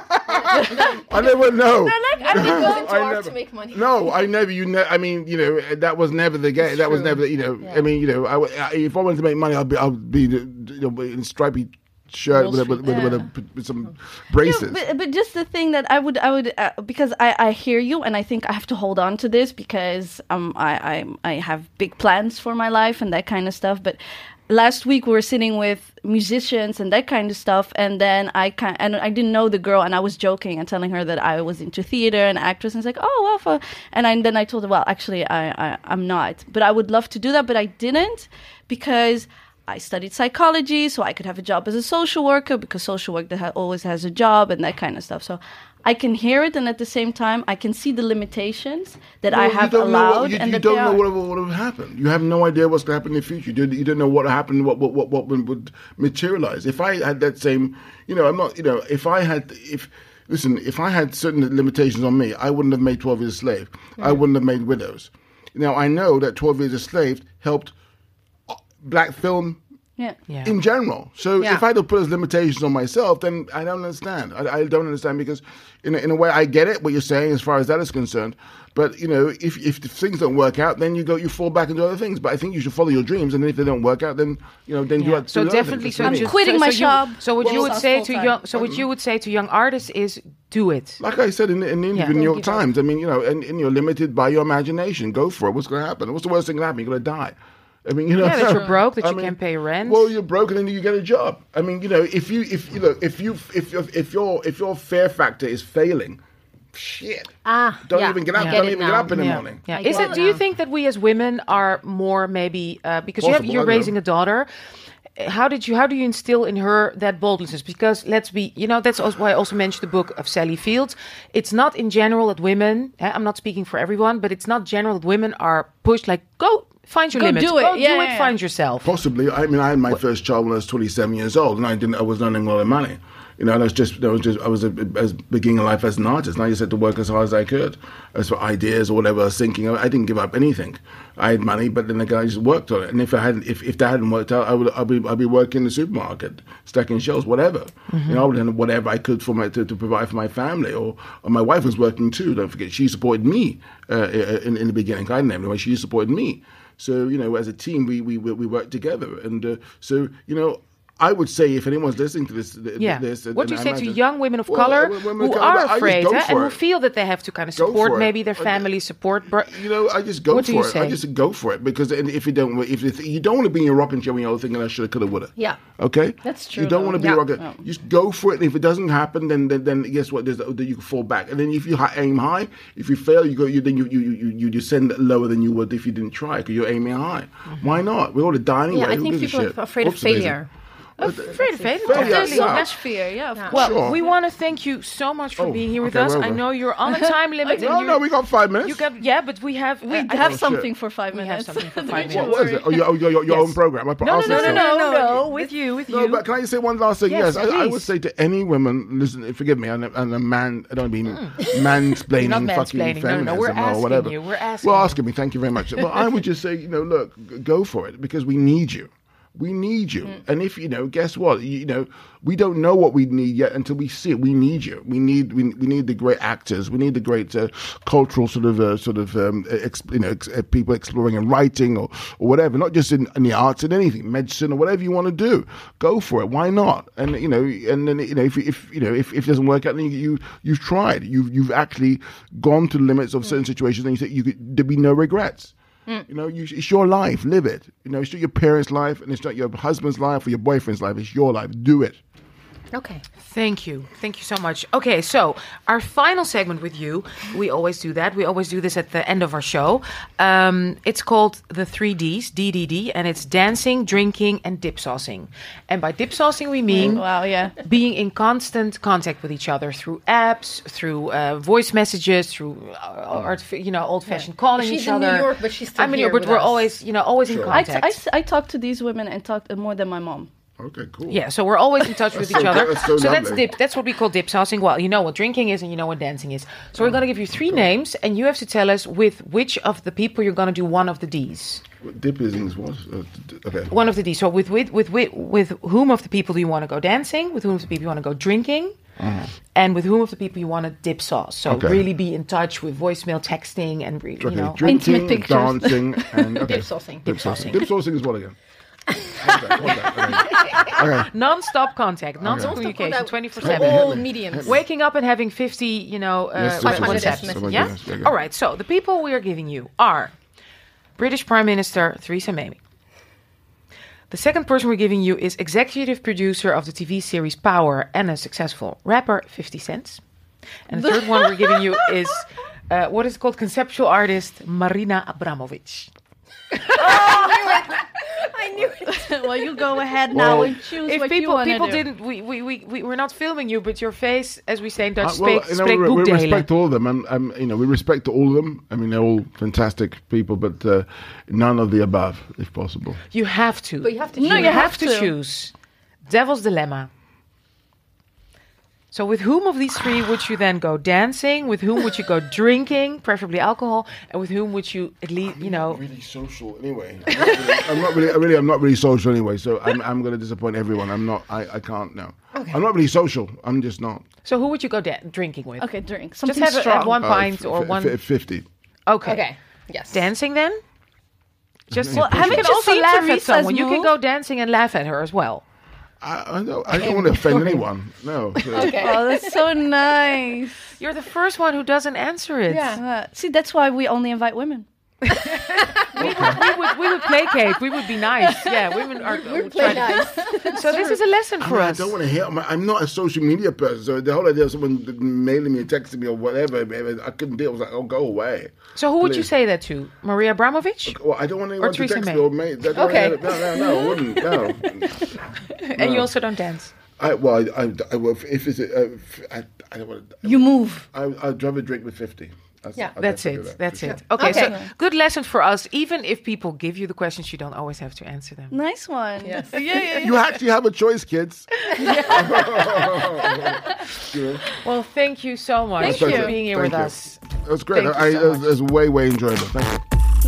I never know. I It goes into I art never- to make money. No, I never. You know, I mean, you know, that was never the game. That was true. never, you know. Yeah. I mean, you know, I, w- I- if I wanted to make money, I'd be, I'd be, you know, in a stripy shirt with, a, with, with, with, a, with some braces. Yeah, but, but just the thing that I would, I would, uh, because I, I hear you, and I think I have to hold on to this because um, I, I, I have big plans for my life and that kind of stuff. But last week we were sitting with musicians and that kind of stuff, and then I kind, and I didn't know the girl, and I was joking and telling her that I was into theater and actress, and it's like, oh, well, for, and I, then I told her, well, actually, I, I, I'm not, but I would love to do that, but I didn't because I studied psychology, so I could have a job as a social worker because social work that ha- always has a job and that kind of stuff. So I can hear it, and at the same time, I can see the limitations that I Well, you have don't know allowed, what, you, and you that don't they know are. what will, what will happen. You have no idea what's going to happen in the future. You don't, you don't know what happened, what what what what would, would materialize. If I had that same, you know, I'm not, you know, if I had, if listen, if I had certain limitations on me, I wouldn't have made twelve Years a Slave. I wouldn't have made Widows. Now I know that twelve Years a Slave helped uh, black film. Yeah. yeah. In general. So Yeah. if I had to put those limitations on myself, then I don't understand. I, I don't understand because in a, in a way I get it, what you're saying as far as that is concerned. But, you know, if, if the things don't work out, then you go, you fall back into other things. But I think you should follow your dreams. And if they don't work out, then, you know, then you Yeah. have to So do other definitely, things. so That's what I just, mean. quitting so, my so job. You, so what Well, you would sounds say to full-time. young, so what you would say to young artists is do it. Like I said in the, in the interview Yeah. in the New York Don't give up. Times, I mean, you know, and, and you're limited by your imagination. Go for it. What's going to happen? What's the worst thing that happen? You're going to die. I mean, you know, Yeah, that you're broke, that I you mean, can't pay rent. Well, you're broke, and then you get a job. I mean, you know, if you, if you know, if you, if your, if your, if your fear factor is failing, shit, Ah, don't yeah. even get up. I Don't get it even get now. up in the yeah. morning. Yeah. I Is get it? it Do you now. think that we as women are more maybe uh, because you have, Possible, you're I don't know. raising a daughter? How did you? How do you instill in her that boldness? Because let's be, you know, that's also why I also mentioned the book of Sally Fields. It's not in general that women. eh, I'm not speaking for everyone, but it's not general that women are pushed like go find your Go limits, do it. go Yeah, do yeah, it, yeah. find yourself. Possibly. I mean, I had my first child when I was twenty-seven years old, and I didn't. I was earning a lot of money. You know, and I was just, I was just, I was a, as beginning life as an artist. And I just had to work as hard as I could, as for ideas or whatever I was thinking. I didn't give up anything. I had money, but then again, I just worked on it. And if I hadn't, if, if that hadn't worked out, I would, I'd be, I'd be working in the supermarket, stacking shelves, whatever. Mm-hmm. You know, I would have done whatever I could for my to, to provide for my family. Or, or my wife was working too. Don't forget, she supported me uh, in, in the beginning. I didn't have any. She supported me. So you know, as a team, we we we worked together. And uh, so you know. I would say if anyone's listening to this, th- Yeah. this What do you and say I to imagine- young women of Well, color uh, women of who color, I are just afraid go eh, for and who it. feel that they have to kind of Go support for it. maybe their Uh, family support? Bro- You know, I just go What do for you it. say? I just go for it because if you don't, if you, you don't want to be in your rocking chair when you're thinking I shoulda, coulda, woulda. Yeah. Okay. That's true, You don't though. want to be Yeah. rocking. No. Just go for it. And if it doesn't happen, then then, then guess what? There's then you can fall back. And then if you hi- aim high, if you fail, you go. You then you you you you descend lower than you would if you didn't try because you're aiming high. Why not? We're all to die anyway. Yeah, I Who think gives a people shit? are afraid of Oops, amazing. failure. Uh, Very faded. Very, Totally. yeah. Atmosphere, yeah. Of Yeah. course. Well, Sure. we want to thank you so much for Oh, being here with okay, us. well I done. know you're on a time limit. No, and you, no, we got five minutes. you got yeah, but we have We uh, I have think- something for five We have minutes. something for Don't five you What minutes. was worry. it? Oh, your, your, your, your Yes. own program. I No, no, asked no, no, you no, so. no, no. With you, with No, you. but can I just say one last thing? Yes, Yes, I, I would please. say to any woman, listen, forgive me, and a, and a man, I don't mean mansplaining, Not fucking mansplaining. No, no, no, feminism we're or asking whatever. you, we're asking Well, you. asking me, thank you very much. But I would just say, you know, look, g- go for it because we need you. We need you. And if, you know, guess what? You, you know, we don't know what we need yet until we see it. We need you. We need we, we need the great actors. We need the great uh, cultural sort of uh, sort of um, ex, you know ex, uh, people exploring in writing or, or whatever. Not just in, in the arts, in anything, medicine or whatever you want to do. Go for it. Why not? And you know, and then you know if if you know if, if it doesn't work out, then you, you you've tried. You've you've actually gone to the limits of certain situations, and you say you could, there'd be no regrets. Mm. You know, you, it's your life. Live it. You know, it's not your parents' life, and it's not your husband's life or your boyfriend's life. It's your life. Do it. Okay. Thank you. Thank you so much. Okay, so our final segment with you, we always do that. We always do this at the end of our show. Um, it's called the three Ds, D D D, and it's dancing, drinking, and dip saucing. And by dip saucing, we mean Wow, yeah. being in constant contact with each other through apps, through uh, voice messages, through uh, art, you know, old-fashioned calling She's each in other. New York, but she's still I'm in here New York, but with we're us. always, you know, always in I, t- contact. I, s- I talk to these women and talk uh, more than my mom. Okay, cool. Yeah, so we're always in touch with each so other. good. That's so so that's lovely. dip. That's what we call dip saucing. Well, you know what drinking is, and you know what dancing is. So we're going to give you three names, and you have to tell us with which of the people you're going to do one of the D's. What dip is what? Uh, d- okay. One of the D's. So with with with with, with whom of the people do you want to go dancing? With whom of the people you want to go drinking? Uh-huh. And with whom of the people you want to dip sauce? So Okay. really be in touch with voicemail, texting, and re- you Okay, know. drinking, Intimate pictures. dancing, and okay. Dip saucing. Dip saucing. Dip saucing is what again? What's that? What's that? Okay. Okay. Non-stop contact, non-stop communication, contact twenty-four for seven. all mediums. Waking up and having fifty, you know, uh, Yes, yes, yes, WhatsApps. yes, yes. Oh my Yeah? goodness, yeah, yeah. All right, so the people we are giving you are British Prime Minister Theresa May. The second person we're giving you is executive producer of the T V series Power and a successful rapper, fifty Cent. And the third one we're giving you is, uh, what is it called, conceptual artist Marina Abramovic. I knew it. Well, you go ahead now Well, and choose If what you people want to people do. didn't, we, we, we, we, we're not filming you, but your face, as we say in Dutch, Uh, well, spreekt you know, spreekt we, we boekdelen. respect all of them, and um, you know, we respect all of them. I mean, they're all fantastic people, but uh, none of the above, if possible. You have to. But you have to No, choose. you you have, have to. to. choose. Devil's dilemma. So with whom of these three would you then go dancing? With whom would you go drinking, preferably alcohol? And with whom would you at least, you know... Really social anyway. I'm not really, I'm not really, I really, I'm not really social anyway. So I'm, I'm going to disappoint everyone. I'm not. I, I can't. No. Okay. I'm not really social. I'm just not. So who would you go da- drinking with? Okay, drink. Just Something have, a, strong. have one Uh, pint f- or f- one... f- fifty. okay. Okay. Yes. Dancing then? Just Well, you haven't can you also seen laugh at Theresa's someone. You can move? go dancing and laugh at her as well. I, I don't. I don't want to offend anyone. No. So- Okay. Oh, that's so nice. You're the first one who doesn't answer it. Yeah. Uh, see, that's why we only invite women. We would, we would we would placate. We would be nice. Yeah, women are. We're would play try to- nice. So this is a lesson I, for mean, I us. don't want to hear. I'm, I'm not a social media person, so the whole idea of someone mailing me, or texting me, or whatever, I couldn't deal. I was like, "Oh, go away." So who would you Please. say that to? Maria Abramovic? Well, I don't want anyone to Theresa text May. me or mate. I don't Okay. wanna- No, no, no, I wouldn't. No. And you also don't dance. I well, I, I, I well, if it's, uh, f- I, I don't want to. You move. I, I'd rather drink with fifty. That's, Yeah. I'd That's definitely it. do that, That's for it. sure. Okay, Okay. so good lesson for us. Even if people give you the questions, you don't always have to answer them. Nice one. Yes. Yeah, yeah, yeah. You actually have a choice, kids. You know, Well, thank you so much Thank for you. being here Thank with you. us. It was great. Thank you I, so it, was, much. it was way, way enjoyable. Thank you.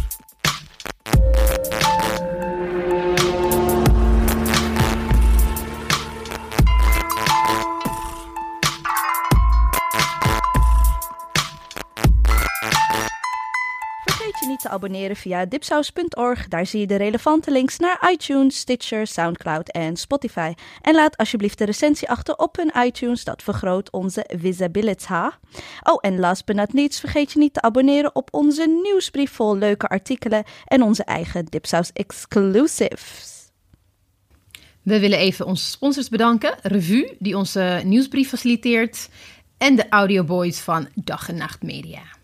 Vergeet je niet te abonneren via dipsaus punt org. Daar zie je de relevante links naar iTunes, Stitcher, Soundcloud en Spotify. En laat alsjeblieft de recensie achter op hun iTunes. Dat vergroot onze visibility. Oh, en last but not least, vergeet je niet te abonneren op onze nieuwsbrief vol leuke artikelen en onze eigen Dipsaus exclusives. We willen even onze sponsors bedanken. Revue, die onze nieuwsbrief faciliteert. En de audioboys van Dag en Nacht Media.